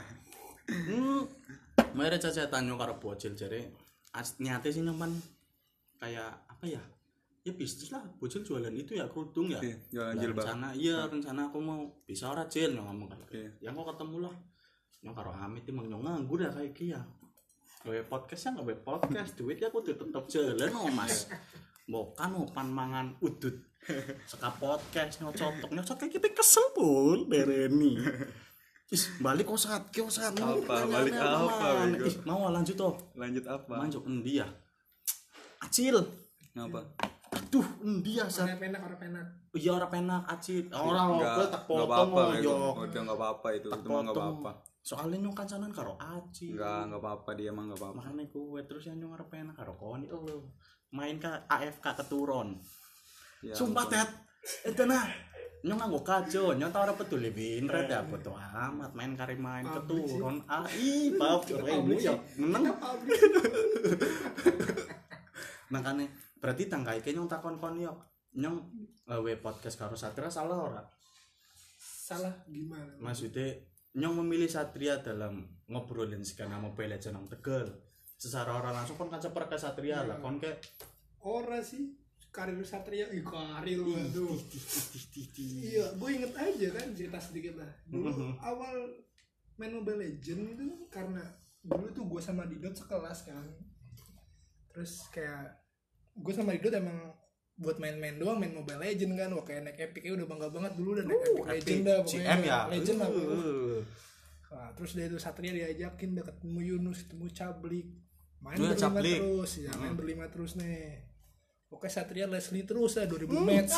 mere cacetan yo karo bocil jare nyate sih nyoman kayak apa ya bisnis lah bocil jualan itu ya kerudung ya jualan jilbab rencana aku mau bisa ora cil ngomong kayak yang kok ketemu lah yang karo Amit emang nganggur ya kayak kia gawe podcast ya gawe podcast duit ya aku tetep jalan mas bukan pan mangan udut seka podcast nyocok kayak kita kesel pun bereni balik saat apa balik apa mau lanjut apa lanjut endi ya acil ngapa aduh endi ya orang penak iya orang penak acil orang tak potong udah enggak apa-apa itu mah enggak apa-apa soalnya nyong kancanan karo acil enggak apa-apa dia mah enggak apa-apa makanya gue terus yang nyong orang penak karo koni main ke AFK keturun ya, sumpah tet itu nah nyong nganggo kajo nyong tau ora peduli winret ya bodo amat main kari main keturun bab remu ya meneng makanya berarti tangkai nyong takon yo nyong gawe podcast karo Satria salah ora salah gimana maksudnya nyong memilih Satria dalam ngobrolin skena Mobile Legends nang Tegal secara orang langsung kan seper ke Satria lah kon kayak ora sih karir Satria karir waduh iya gue inget aja kan cerita sedikit lah dulu awal main Mobile Legends itu karena dulu tuh gue sama Didot sekelas kan terus kayak gue sama Didot emang buat main-main doang main Mobile Legends kan wah kayak naik Epic udah bangga banget dulu dan naik Epic Legend dah pokoknya CM ya Legend lah nah, terus dia itu Satria diajakin udah ketemu Yunus ketemu Cablik main berlima terus nih oke Satria Leslie terus lah 2000 match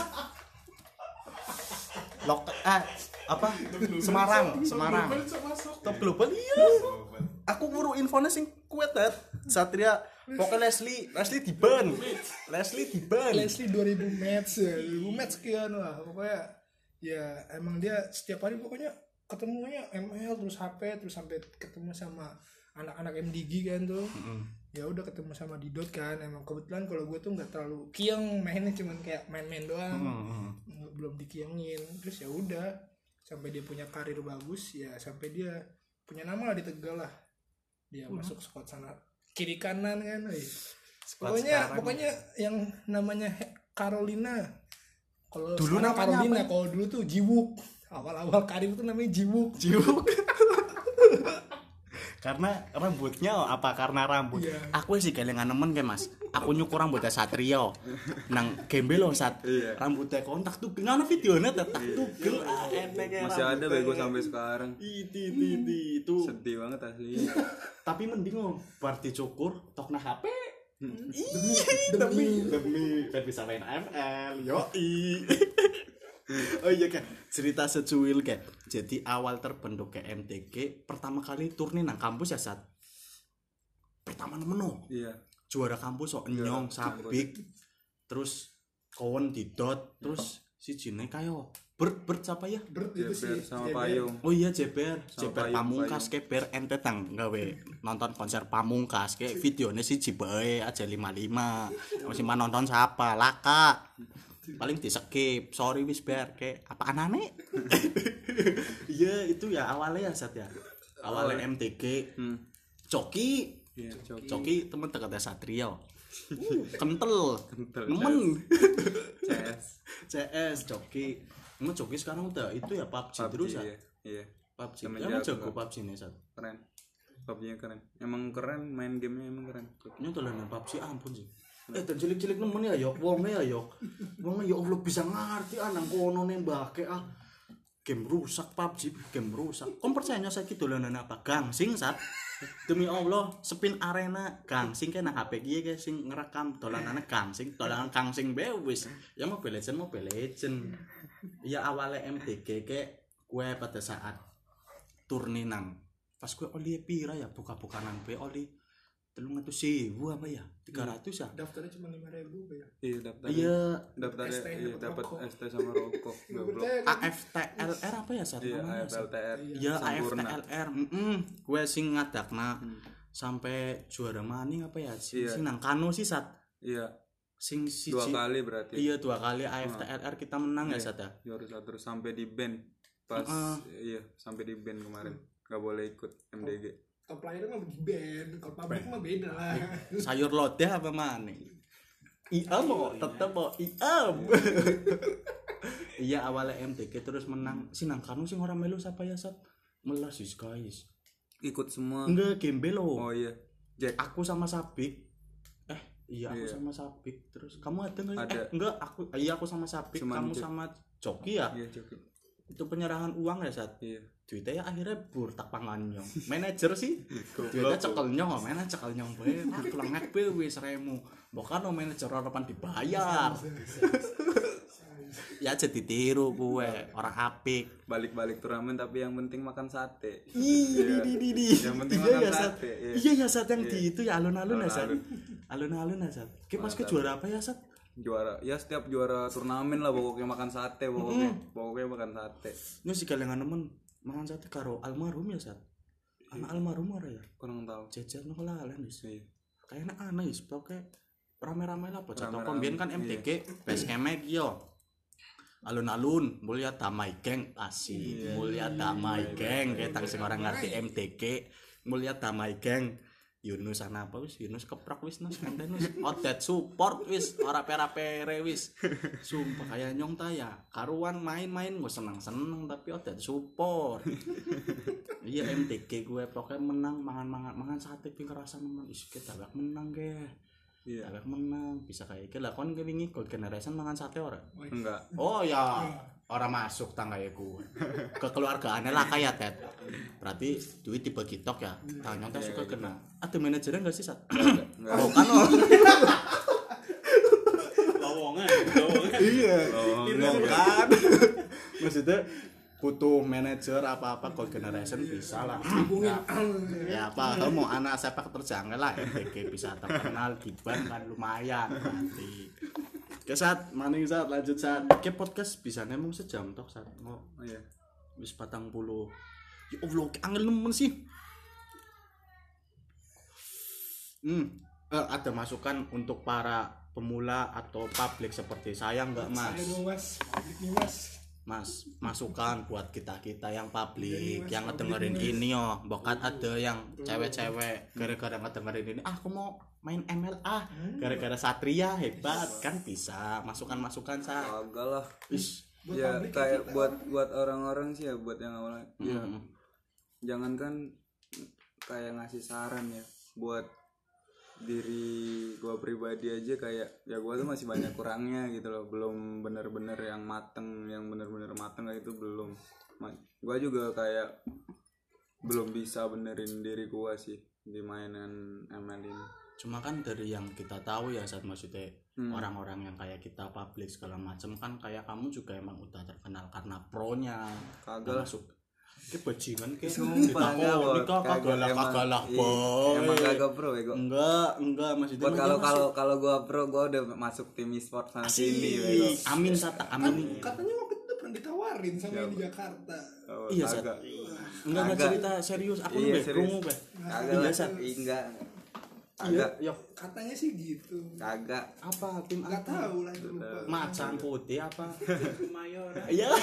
apa Semarang top global iya aku nguru infonya sing kuat dat Satria pokoknya Leslie diban 2000 match 2000 match sekian lah pokoknya ya emang dia setiap hari pokoknya ketemunya ML terus HP terus sampai ketemu sama anak-anak MDG kan tuh ya udah ketemu sama Didot kan emang kebetulan kalau gue tuh nggak terlalu kieng mainnya cuman kayak main-main doang belum dikiengin terus ya udah sampai dia punya karir bagus ya sampai dia punya nama lah di Tegal lah dia masuk squad sana kiri kanan kan pokoknya yang namanya Carolina kalau dulu namanya Carolina kalau dulu tuh Jiwuk awal-awal karir tuh namanya Jiwuk karena rambutnya apa karena rambut aku sih kelingan nemen kayak mas aku nyukur rambutnya Satrio nang gembel loh rambutnya kontak tuh gimana videonya tak tuh masih ada bego sampai sekarang itu sedih banget asli tapi mending berarti cukur tok nah HP demi bisa main ML yoi oh iya kan cerita secuil kayak jadi awal terbentuk ke MTG pertama kali turni nang kampus ya saat pertama nemen juara kampus enyong sabik terus kawan Didot terus sijine kayo Bert siapa ya? Bert itu sih sama Payung. Oh iya Jeber Pamungkas ke ber ente tang gawe nonton konser Pamungkas ke videonya siji bae aja 55. Masih nonton siapa? Laka. Paling di skip. Sorry wis ber ke apa anane? Iya itu ya awalnya ya Sat ya. Awalnya MTG. Coki. Iya, Coki temen dekatnya Satrio. Kental. Nemen. CS Coki. Emang Coki sekarang udah itu ya PUBG terus ya? Iya. PUBG. Emang jago PUBG nih Sat. Keren. PUBG-nya keren. Emang keren, main gamenya emang keren. Ini dolanan PUBG ampun sih. Dan cilik-cilik nemen ya yo, wonge ya yo. Wonge ya Allah bisa ngerti nang kono nembake game rusak PUBG, game rusak. Kon percaya saiki dolanan apa? Gangsing Sat. Demi Allah, spin arena gangsing kena HP kiye ge sing ngerekam dolanane gangsing, dolanan gangsing bae wis. Ya Mobile Legend. Ya awalnya MTG ke gue pada saat turni nang pas gue oli pira ya buka-buka nang be oli 300.000 apa ya 300 ya daftarnya cuma 5.000 ya. Iya daftarnya dapat ST sama rokok. AFTLR apa ya saat namanya AFTLR ya AFTLR gue sing ngadakna sampai juara maning apa ya sing nang Kano sih saat sing dua kali berarti. Iya 2 kali AFTLR kita menang ya Sat ya. Juara terus sampai di band pas sampai di band kemarin nggak boleh ikut MDG. Top player mah di band, kalau publik mah beda lah. Sayur lodeh apa mana? Mau tetep mau Iya awalnya MTG terus menang sinang Kanu sing orang melu siapa ya Sat? Melas guys. Ikut semua. Enggak Gembe lo. Oh iya. Jack. Aku sama Sabik. Aku sama Sabik terus kamu ada nggak? Ada. Enggak aku sama Sabik. Kamu sama Coki ya? Iya Coki. Itu penyerahan uang ya Sat? Iya. Duitnya ya akhirnya burtak panganyong. Manajer sih. Duitnya cekel nyong, mana cekel nyong bae. Aku lengek bae wis remu. Bukan manajer harapan dibayar. Ya jadi tiru gue orang apik. Balik-balik turnamen tapi yang penting makan sate. Yang penting makan sate. Iya ya Sat yang di itu ya alun-alun ya Sat. Alun-alun ya Sat. Kita pas ke juara apa ya Sat? Juara ya setiap juara turnamen lah pokoknya makan sate pokoknya makan sate. Ini sih kalian nemen makan sate karo almarhum ya Sat. Anak almarhum ora ya? Kurang tahu. Jajan kok lalen wis. Iya. Kayaknya aneh wis pokoke rame-rame lah bocah toko mbiyen kan MTG PSM yo. Alun-alun mulia damai geng asik. Mulia damai geng ketang sing orang ngerti MTG. Mulia damai geng. Yunus ana apa wis Yunus keprok wis nos kanten wis odet support wis ora pera-pere wis sumpah kaya nyong ta ya karuan main-main gue seneng-seneng tapi odet support. Iya MTG gue pokoknya menang mangan sate ping kerasa nemen is kita gak menang ge. Iya gak menang bisa kayak iki lah kon wingi Gold Generation mangan sate ora? Enggak. Oh ya orang masuk tanggae gue kekeluargaannya lah kayak Ted berarti duit dibagi tok ya tanya tak suka kena ada manajernya nggak sih Sat? Enggak Kan lowongan iya kan maksudnya butuh manajer apa Gold Generation bisa lah ya apa kalau mau anak sepak terjangkau lah MTG bisa terkenal di ban kan lumayan nanti. Oke Sat, maning Sat, lanjut Sat. Oke podcast bisa nemung sejam tok Sat. Oh iya. Wis 40. Ya Allah, angel nemen sih. Ada masukan untuk para pemula atau publik seperti saya enggak Mas? Ada dong Mas, publik nih Mas. Mas, masukan buat kita yang publik yang ngedengerin ini yo. Bahkan ada yang cewek-cewek gara-gara ngedengerin ini, aku mau main ML gara-gara Satria hebat kan bisa masukan-masukan Sa. Agak lah. Ya kayak buat orang-orang sih ya buat yang awalnya. Ya. Jangankan kayak ngasih saran ya buat diri gua pribadi aja kayak ya gua tuh masih banyak kurangnya gitu loh, belum bener-bener yang bener-bener mateng kayak itu belum. Gua juga kayak belum bisa benerin diri gua sih di mainan ML ini. Cuma kan dari yang kita tahu ya saat maksudnya orang-orang yang kayak kita publik segala macam kan kayak kamu juga emang udah terkenal karena pro-nya. Kagak masuk. Ki bajingan ki. Sumpah kagalah boy. Emang kagak pro ya gua. Enggak maksudnya. Kalau gua pro gua udah masuk tim e-sport sana sini bego. Amin Sata, amin. Katanya waktu itu pernah ditawarin sama yang di Jakarta. Iya Sat. Enggak cerita serius, aku lu krungu be. Kagak Sat. Enggak. Agak katanya sih gitu. Kagak. Apa tim enggak tahu lah lupa. Macan putih apa? Mayor. Iya.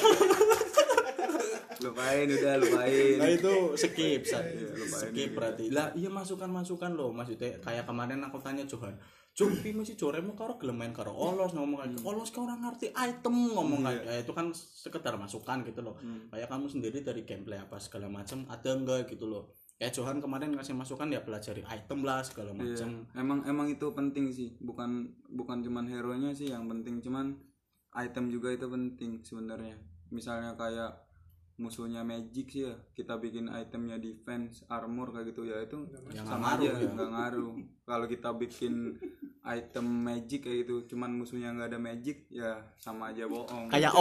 lupain. Nah itu skip berarti. Lah iya masukan loh maksudnya kayak kemarin aku tanya Johan. Jumpi masih joremu karo gelem main karo Olos ngomong kayak Olos kau orang ngerti item ngomong kayak ya itu kan sekedar masukan gitu loh. Kayak kamu sendiri dari gameplay apa segala macam ada enggak gitu loh. Kayak Johan kemarin ngasih masukan ya pelajari item lah segala macam. Emang itu penting sih. Bukan cuman hero-nya sih yang penting, cuman item juga itu penting sebenarnya. Misalnya kayak musuhnya magic sih ya, kita bikin itemnya defense, armor kayak gitu ya itu yang sama aja nggak ngaruh. Kalau kita bikin item magic kayak gitu, cuman musuhnya nggak ada magic ya sama aja bohong. Kayak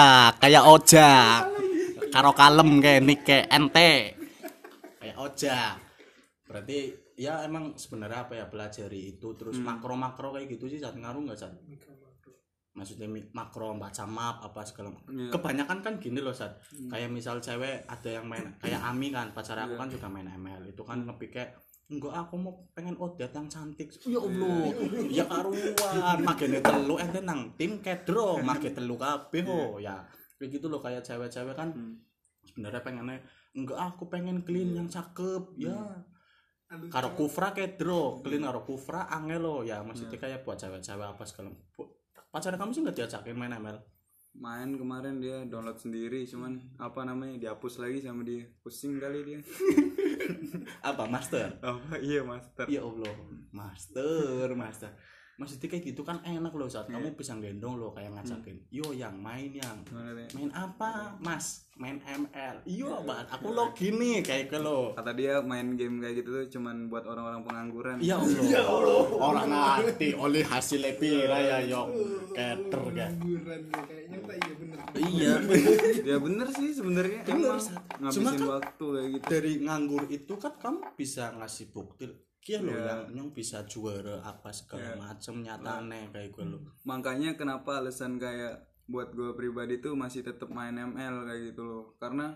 ojak, karo kalem kayak nik kayak ente. Oja berarti ya emang sebenarnya apa ya pelajari itu terus makro kayak gitu sih saat ngaruh nggak saat maksudnya makro baca map apa segala kebanyakan kan gini loh saat kayak misal cewek ada yang main kayak Ami kan pacar aku kan juga main ML itu kan ngepikir enggak aku mau pengen odet yang cantik ya Allah ya karuan magene telu ente nang tim kedro mage telu kabeh ya kayak gitu loh kayak cewek-cewek kan sebenarnya pengennya enggak aku pengen clean yang cakep ya karo kufra kedro clean karo kufra angel lo ya maksudnya kayak buat cewek-cewek apa segala pacar kamu sih nggak diajakin main ML main kemarin dia download sendiri cuman apa namanya dihapus lagi sama dia pusing kali dia apa master iya master ya Allah master maksudnya kayak gitu kan enak loh saat kamu bisa gendong loh kayak ngajakin yo yang main apa mas main ML iyo banget aku login nih kayak ke lo kata dia main game kayak gitu tuh cuman buat orang-orang pengangguran ya Allah orang ngerti oleh hasil pira ya yo keter kan pengangguran kayaknya tak bener iya ya bener sih sebenarnya emang ngabisin kan waktu kayak gitu dari nganggur itu kan kamu bisa ngasih bukti kia lo yang bisa juara apa segala macam nyatane kayak gue lo makanya kenapa alasan kayak buat gue pribadi tuh masih tetap main ML kayak gitu loh karena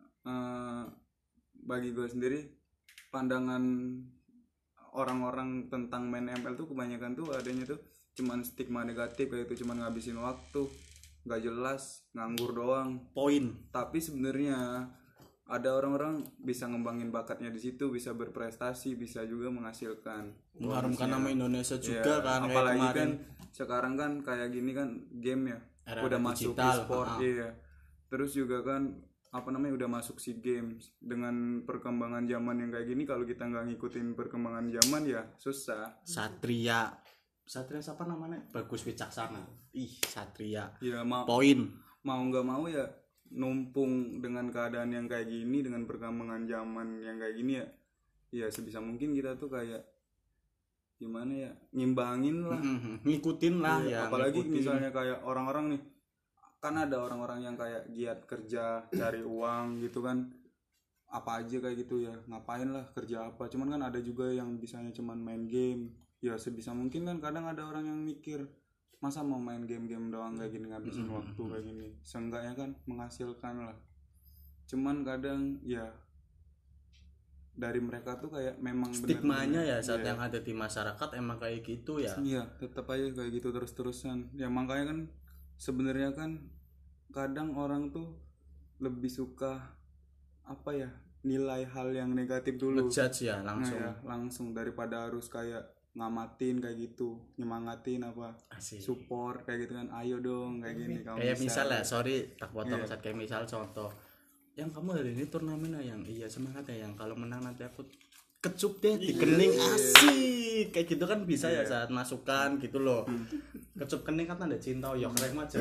bagi gue sendiri pandangan orang-orang tentang main ML tuh kebanyakan tuh adanya tuh cuman stigma negatif kayak itu cuman ngabisin waktu nggak jelas nganggur doang poin tapi sebenarnya ada orang-orang bisa ngembangin bakatnya di situ bisa berprestasi bisa juga menghasilkan mengharumkan nama Indonesia juga kan apalagi kan sekarang kan kayak gini kan game ya era udah masuk e-sport terus juga kan apa namanya udah masuk SEA Games dengan perkembangan zaman yang kayak gini kalau kita nggak ngikutin perkembangan zaman ya susah. Satria siapa namanya Bagus Wicaksana Satria ya poin mau nggak mau ya numpung dengan keadaan yang kayak gini dengan perkembangan zaman yang kayak gini ya sebisa mungkin kita tuh kayak gimana ya ngimbangin lah ngikutin lah ya apalagi misalnya kayak orang-orang nih kan ada orang-orang yang kayak giat kerja cari uang gitu kan apa aja kayak gitu ya ngapain lah kerja apa cuman kan ada juga yang bisanya cuman main game ya sebisa mungkin kan kadang ada orang yang mikir masa mau main game-game doang kayak gini ngabisin waktu kayak gini seenggaknya kan menghasilkan lah cuman kadang ya dari mereka tuh kayak memang stigmanya ya saat yang ada di masyarakat emang kayak gitu ya iya tetap aja kayak gitu terus-terusan ya makanya kan sebenarnya kan kadang orang tuh lebih suka apa ya nilai hal yang negatif dulu ngejudge ya langsung langsung daripada harus kayak ngamatin kayak gitu nyemangatin apa support kayak gitu kan ayo dong kayak gini kamu kayak misal lah sorry tak potong saat kayak misal contoh yang kamu hari ini turnamen yang iya semangat ya yang kalau menang nanti aku kecup deh di kening asik kayak gitu kan bisa ya saat masukan gitu loh kecup kening kan tanda cinta ya keren aja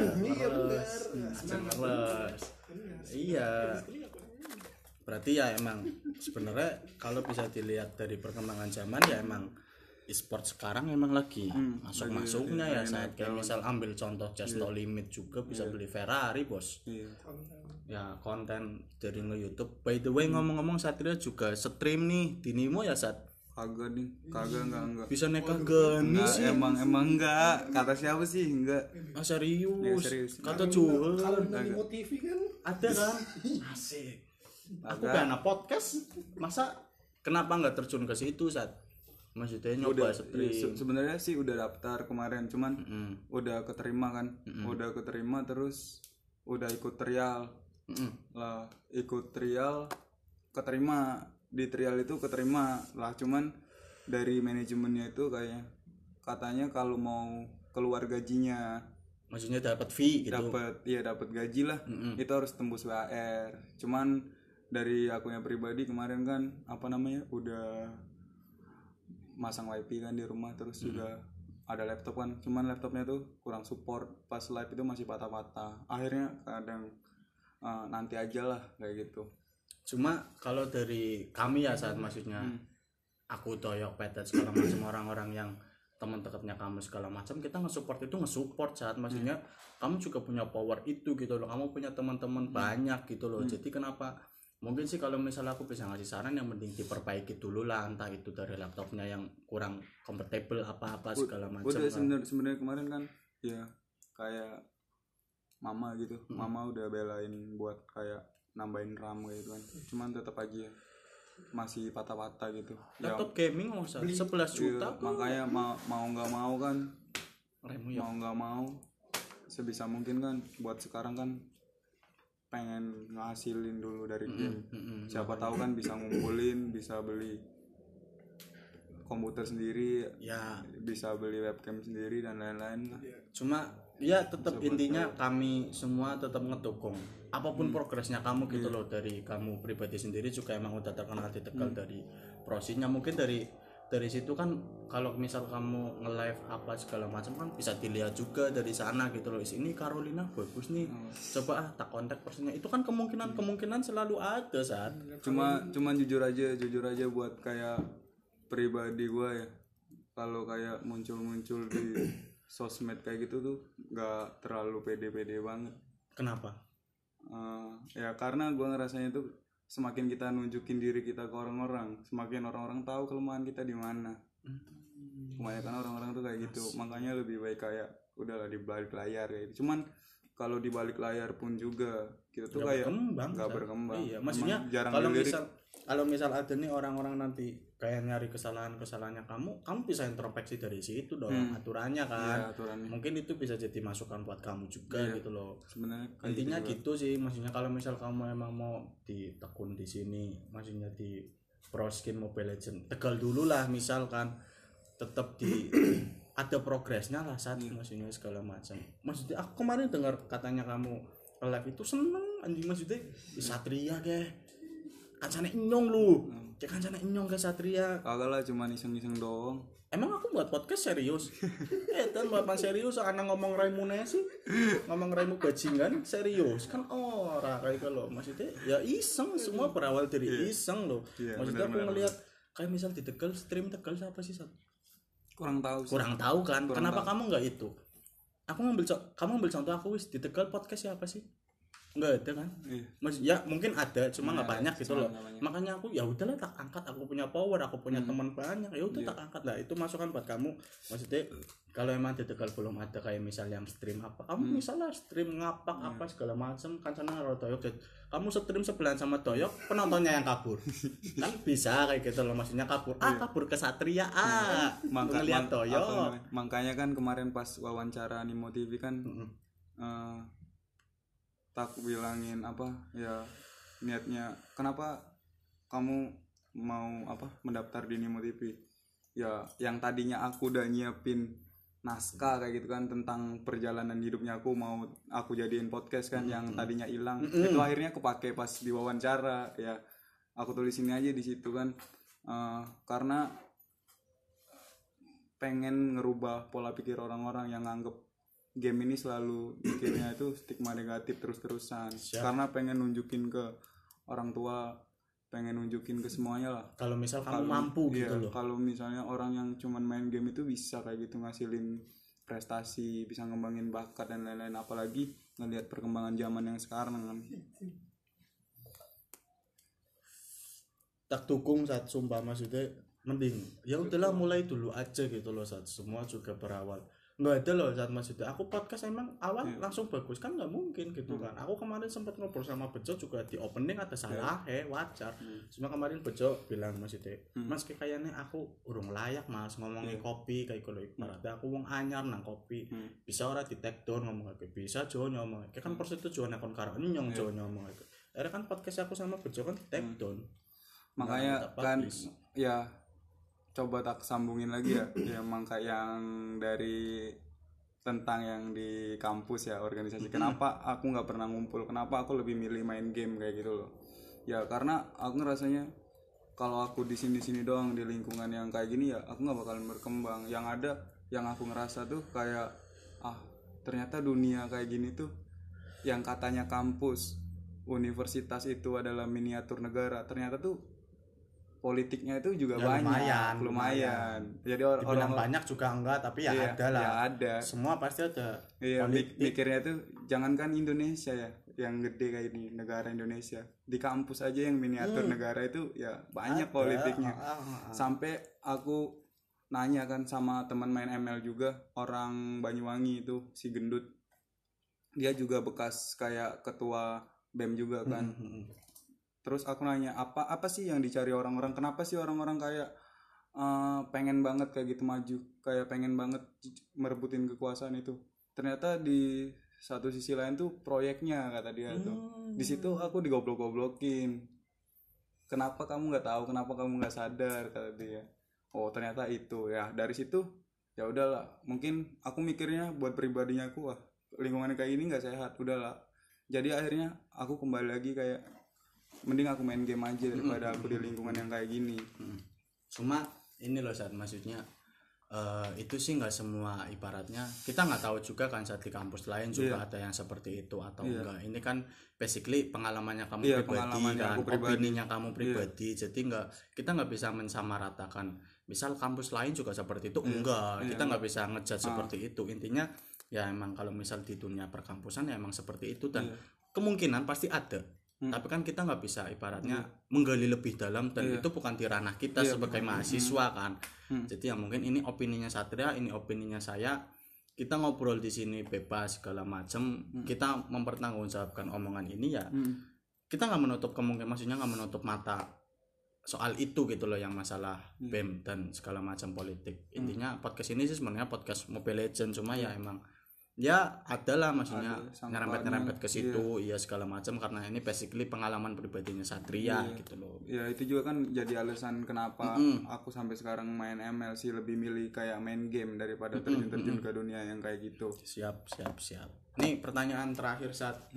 iya berarti ya emang sebenarnya kalau bisa dilihat dari perkembangan zaman ya emang e-sport sekarang emang lagi masuknya ya saat kayak misal ambil contoh Just No Limit juga bisa beli Ferrari bos. Ya konten dari nge-YouTube. By the way ngomong-ngomong Satria juga stream nih di Nimo ya Sat? Kagak enggak. Bisa neka gani sih. Emang enggak. Kata siapa sih? Enggak. Serius. Kata Juhel. Kalau di Nimo TV kan ada kan? Asik. Aku karena podcast masa kenapa nggak terjun ke situ Sat? Maksudnya nyoba stream. Sebenarnya sih udah daftar kemarin, cuman udah keterima kan. Udah keterima terus udah ikut trial. Lah, ikut trial keterima. Di trial itu keterima lah, cuman dari manajemennya itu katanya kalau mau keluar gajinya, maksudnya dapat fee gitu. Dapat gaji lah. Itu harus tembus WR. Cuman dari akunya pribadi kemarin kan udah masang wifi kan di rumah, terus juga ada laptop kan, cuman laptopnya tuh kurang support, pas live itu masih patah-patah, akhirnya kadang nanti aja lah kayak gitu. Cuma kalau dari kami ya Saat maksudnya aku Toyok Petet segala macam orang-orang yang teman dekatnya kamu segala macam, kita nge-support Saat maksudnya kamu juga punya power itu gitu loh, kamu punya teman-teman banyak gitu loh. Jadi kenapa mungkin sih kalau misalnya aku bisa ngasih saran yang penting diperbaiki dulu lah, entah itu dari laptopnya yang kurang kompatibel apa-apa segala macam. Udah sebenarnya kemarin kan ya kayak mama gitu, mama udah belain buat kayak nambahin RAM gitu kan, cuman tetap aja masih patah-patah gitu. Laptop gaming masa 11 juta iya, makanya mau nggak mau kan, mau nggak mau sebisa mungkin kan buat sekarang kan pengen ngasilin dulu dari game. Siapa tahu kan bisa ngumpulin, bisa beli komputer sendiri ya, bisa beli webcam sendiri dan lain-lain lah. Cuma ya tetap intinya kami semua tetap ngedukung apapun progresnya kamu gitu loh. Dari kamu pribadi sendiri juga emang udah terkenal di Tegal dari prosesnya, mungkin dari situ kan kalau misal kamu nge-live apa segala macam kan bisa dilihat juga dari sana gitu loh. Ini Carolina bagus nih, coba tak kontak personnya. Itu kan kemungkinan selalu ada Saat. Cuman jujur aja buat kayak pribadi gue ya, kalau kayak muncul di sosmed kayak gitu tuh nggak terlalu pede banget. Kenapa? Ya karena gue ngerasanya tuh semakin kita nunjukin diri kita ke orang-orang, semakin orang-orang tahu kelemahan kita di mana. Kebanyakan orang-orang tuh kayak gitu. Makanya lebih baik kayak udahlah di balik layar kayak gitu. Cuman kalau di balik layar pun juga kita tuh kayak nggak berkembang. Iya, maksudnya kalau misal ada nih orang-orang nanti kayak nyari kesalahannya kamu bisa introspeksi dari situ dong, aturannya kan. Iya, aturannya. Mungkin itu bisa jadi masukan buat kamu juga gitu loh. Sebenarnya intinya gitu sih, maksudnya kalau misal kamu emang mau ditekun di sini, maksudnya di Pro Skin Mobile Legends Tegal dulu lah misalkan, tetap di ada progresnya lah Saat, maksudnya segala macam. Maksudnya aku kemarin dengar katanya kamu live itu seneng anjing, maksudnya di Satria kancane inyong lu. Cek kancane inyong ke Satria. Kagak lah, cuma iseng-iseng doang. Emang aku buat podcast serius? Dan buat serius anak ngomong raimu sih. Ngomong raimu bajingan serius kan ora kayak kalau maksudnya ya iseng, semua berawal dari iseng loh. Maksudnya aku ngelihat kayak misal di Tegal, stream Tegal siapa sih Sat? Kurang tahu kan. Kenapa kamu enggak itu? Kamu ambil contoh aku di Tegal podcast siapa sih? Enggak ada kan? Ya mungkin ada, cuma nggak banyak gitu loh. Makanya aku ya udahlah tak angkat, aku punya power, aku punya teman banyak, ya udah tak angkat lah. Itu masukan buat kamu. Maksudnya kalau emang di Tegal belum ada kayak misalnya stream apa, kamu misalnya stream ngapak apa segala macam kan sana ada Toyok, kamu stream sebelahan sama Toyok, penontonnya yang kabur. Kan bisa kayak gitu loh, maksudnya kabur ke Satria ngeliat Toyok. Makanya kan kemarin pas wawancara Nimo TV kan tak bilangin niatnya kenapa kamu mau mendaftar di Nimo TV. Ya yang tadinya aku udah nyiapin naskah kayak gitu kan tentang perjalanan hidupnya aku jadiin podcast kan, yang tadinya hilang itu akhirnya kepake pas di wawancara. Ya aku tulis ini aja di situ kan, karena pengen ngerubah pola pikir orang-orang yang nganggep game ini selalu mikirnya itu stigma negatif terus-terusan. Karena pengen nunjukin ke orang tua pengen nunjukin ke semuanya lah. Kalau misal kamu mampu gitu loh. Kalau misalnya orang yang cuman main game itu bisa kayak gitu ngasilin prestasi, bisa ngembangin bakat dan lain-lain, apalagi ngelihat perkembangan zaman yang sekarang kan. Tak dukung saat sumpah, maksudnya mending ya udahlah mulai dulu aja gitu loh saat semua juga berawal. Nggak ada loh saat maksudnya aku podcast emang awal langsung bagus kan nggak mungkin gitu kan. Aku kemarin sempat ngobrol sama Bejo juga di opening ada salah wajar. Cuma kemarin Bejo bilang maksudnya mas kayaknya aku urung layak mas ngomongin kopi kayak kalau ibaratnya aku wong anyar nang kopi bisa ora di take down ngomong kayak bisa Jo ngomong kayak kan persetujuan akon karo nyong Jo ngomong kayak ada kan podcast aku sama Bejo kan di take down. Makanya kan ya coba tak sambungin lagi ya emang kayak yang dari tentang yang di kampus ya organisasi. Kenapa aku nggak pernah ngumpul, kenapa aku lebih milih main game kayak gitu loh ya, karena aku ngerasanya kalau aku di sini doang di lingkungan yang kayak gini ya aku nggak bakalan berkembang. Yang ada yang aku ngerasa tuh kayak ternyata dunia kayak gini tuh yang katanya kampus universitas itu adalah miniatur negara, ternyata tuh politiknya itu juga ya, lumayan. Jadi orang banyak juga enggak, tapi ya ada lah. Ya ada. Semua pasti ada. Iya, mikirnya tuh jangankan Indonesia ya, yang gede kayak ini negara Indonesia. Di kampus aja yang miniatur negara itu ya banyak ada, politiknya. Sampai aku nanya kan sama teman main ML juga, orang Banyuwangi itu si Gendut. Dia juga bekas kayak ketua BEM juga kan. Terus aku nanya apa sih yang dicari orang-orang, kenapa sih orang-orang kayak pengen banget kayak gitu maju, kayak pengen banget merebutin kekuasaan itu. Ternyata di satu sisi lain tuh proyeknya kata dia tuh. Di situ aku digoblok-goblokin. Kenapa kamu nggak tahu, kenapa kamu nggak sadar kata dia. Oh ternyata itu ya. Dari situ ya udahlah, mungkin aku mikirnya buat pribadinya aku lingkungan kayak ini nggak sehat, udahlah. Jadi akhirnya aku kembali lagi kayak mending aku main game aja daripada aku di lingkungan yang kayak gini. Cuma ini loh saat maksudnya itu sih nggak semua, ibaratnya kita nggak tahu juga kan saat di kampus lain juga ada yang seperti itu atau enggak. Ini kan basically pengalamannya kamu pribadi kan, opininya kamu pribadi. Jadi kita nggak bisa mensamaratakan. Misal kampus lain juga seperti itu enggak, kita nggak bisa ngejudge seperti itu. Intinya ya emang kalau misal di dunia perkampusan ya emang seperti itu dan kemungkinan pasti ada. Tapi kan kita nggak bisa ibaratnya menggali lebih dalam dan itu bukan di ranah kita sebagai mahasiswa kan. Jadi ya mungkin ini opininya Satria, ini opininya saya. Kita ngobrol di sini bebas segala macam. Kita mempertanggungjawabkan omongan ini ya. Kita nggak menutup kemungkinan, maksudnya nggak menutup mata soal itu gitu loh, yang masalah BEM dan segala macam politik. Intinya podcast ini sih sebenarnya podcast Mobile Legends, cuma ya emang ya adalah maksudnya nyerempet ke situ iya segala macam karena ini basically pengalaman pribadinya Satria gitu loh. Ya itu juga kan jadi alasan kenapa aku sampai sekarang main ML sih, lebih milih kayak main game daripada terjun ke dunia yang kayak gitu. Siap. Nih pertanyaan terakhir Sat.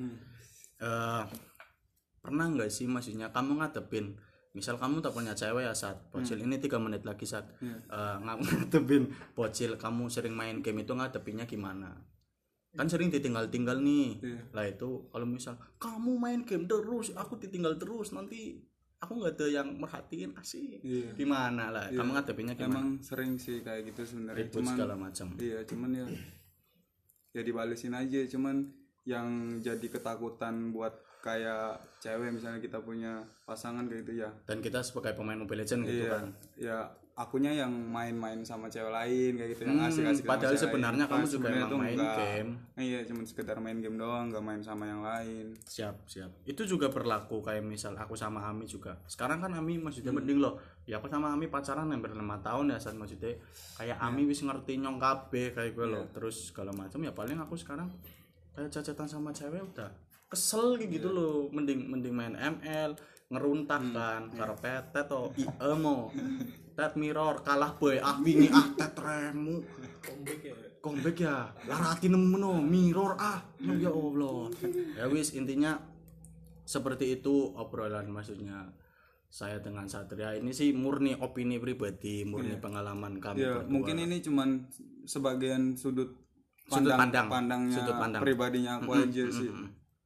Pernah nggak sih maksudnya kamu ngadepin, misal kamu tak punya cewek ya Sat, bocil ini 3 menit lagi Sat, ngadepin bocil kamu sering main game itu ngadepinnya gimana? Kan sering ditinggal nih lah itu. Kalau misal kamu main game terus aku ditinggal terus, nanti aku nggak ada yang merhatiin asik gimana lah kamu ngadepinnya gimana? Emang sering sih kayak gitu sebenarnya, cuman segala macam cuman ya dibalesin aja. Cuman yang jadi ketakutan buat kayak cewek misalnya kita punya pasangan kayak gitu ya, dan kita sebagai pemain Mobile Legends gitu kan ya akunya yang main-main sama cewek lain kayak gitu, yang asik-asik padahal sebenarnya kamu juga emang main game. Iya cuma sekedar main game doang, nggak main sama yang lain. Siap itu juga berlaku kayak misal aku sama Ami juga. Sekarang kan Ami maksudnya mending loh ya, aku sama Ami pacaran hampir 5 tahun ya saat maksudnya kayak Ami wis ngerti nyong kabeh kayak gue loh, terus segala macam ya. Paling aku sekarang kayak cacatan sama cewek udah kesel kayak gitu loh, mending main ML ngeruntak kan karo petet to IEMO tet mirror kalah boy wingi tet remu comeback ya larati nemeno mirror ya Allah. Ya wis intinya seperti itu obrolan maksudnya saya dengan Satria ini sih murni opini pribadi, murni pengalaman kami berdua. Mungkin ini cuman sebagian sudut pandangnya pribadinya aku aja sih.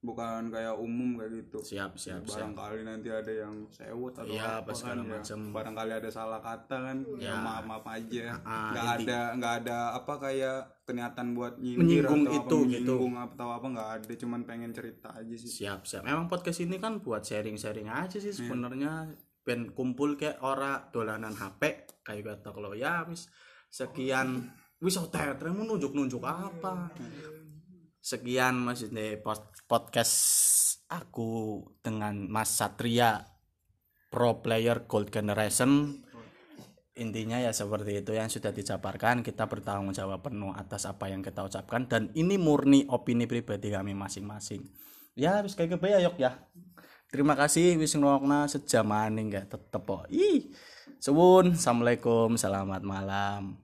bukan kayak umum kayak gitu. Siap. Barangkali nanti ada yang sewot atau apa kan ya. Barangkali ada salah kata kan. Ya maaf aja. Nggak ada apa kayak niatan buat menyinggung atau menyinggung atau apa, nggak ada, cuman pengen cerita aja sih. Siap. Memang podcast ini kan buat sharing aja sih sebenarnya. Ben kumpul kayak ora dolanan HP kayak kata kalau ya wis sekian wis tetremu nunjuk apa. Sekian maksudnya podcast aku dengan Mas Satria, pro player Gold Generation. Intinya ya seperti itu yang sudah dijabarkan. Kita bertanggung jawab penuh atas apa yang kita ucapkan dan ini murni opini pribadi kami masing-masing. Ya wis kayak ya yok ya. Terima kasih wis ngrungokna sejam maning gak tetep kok. Suwun, assalamualaikum, selamat malam.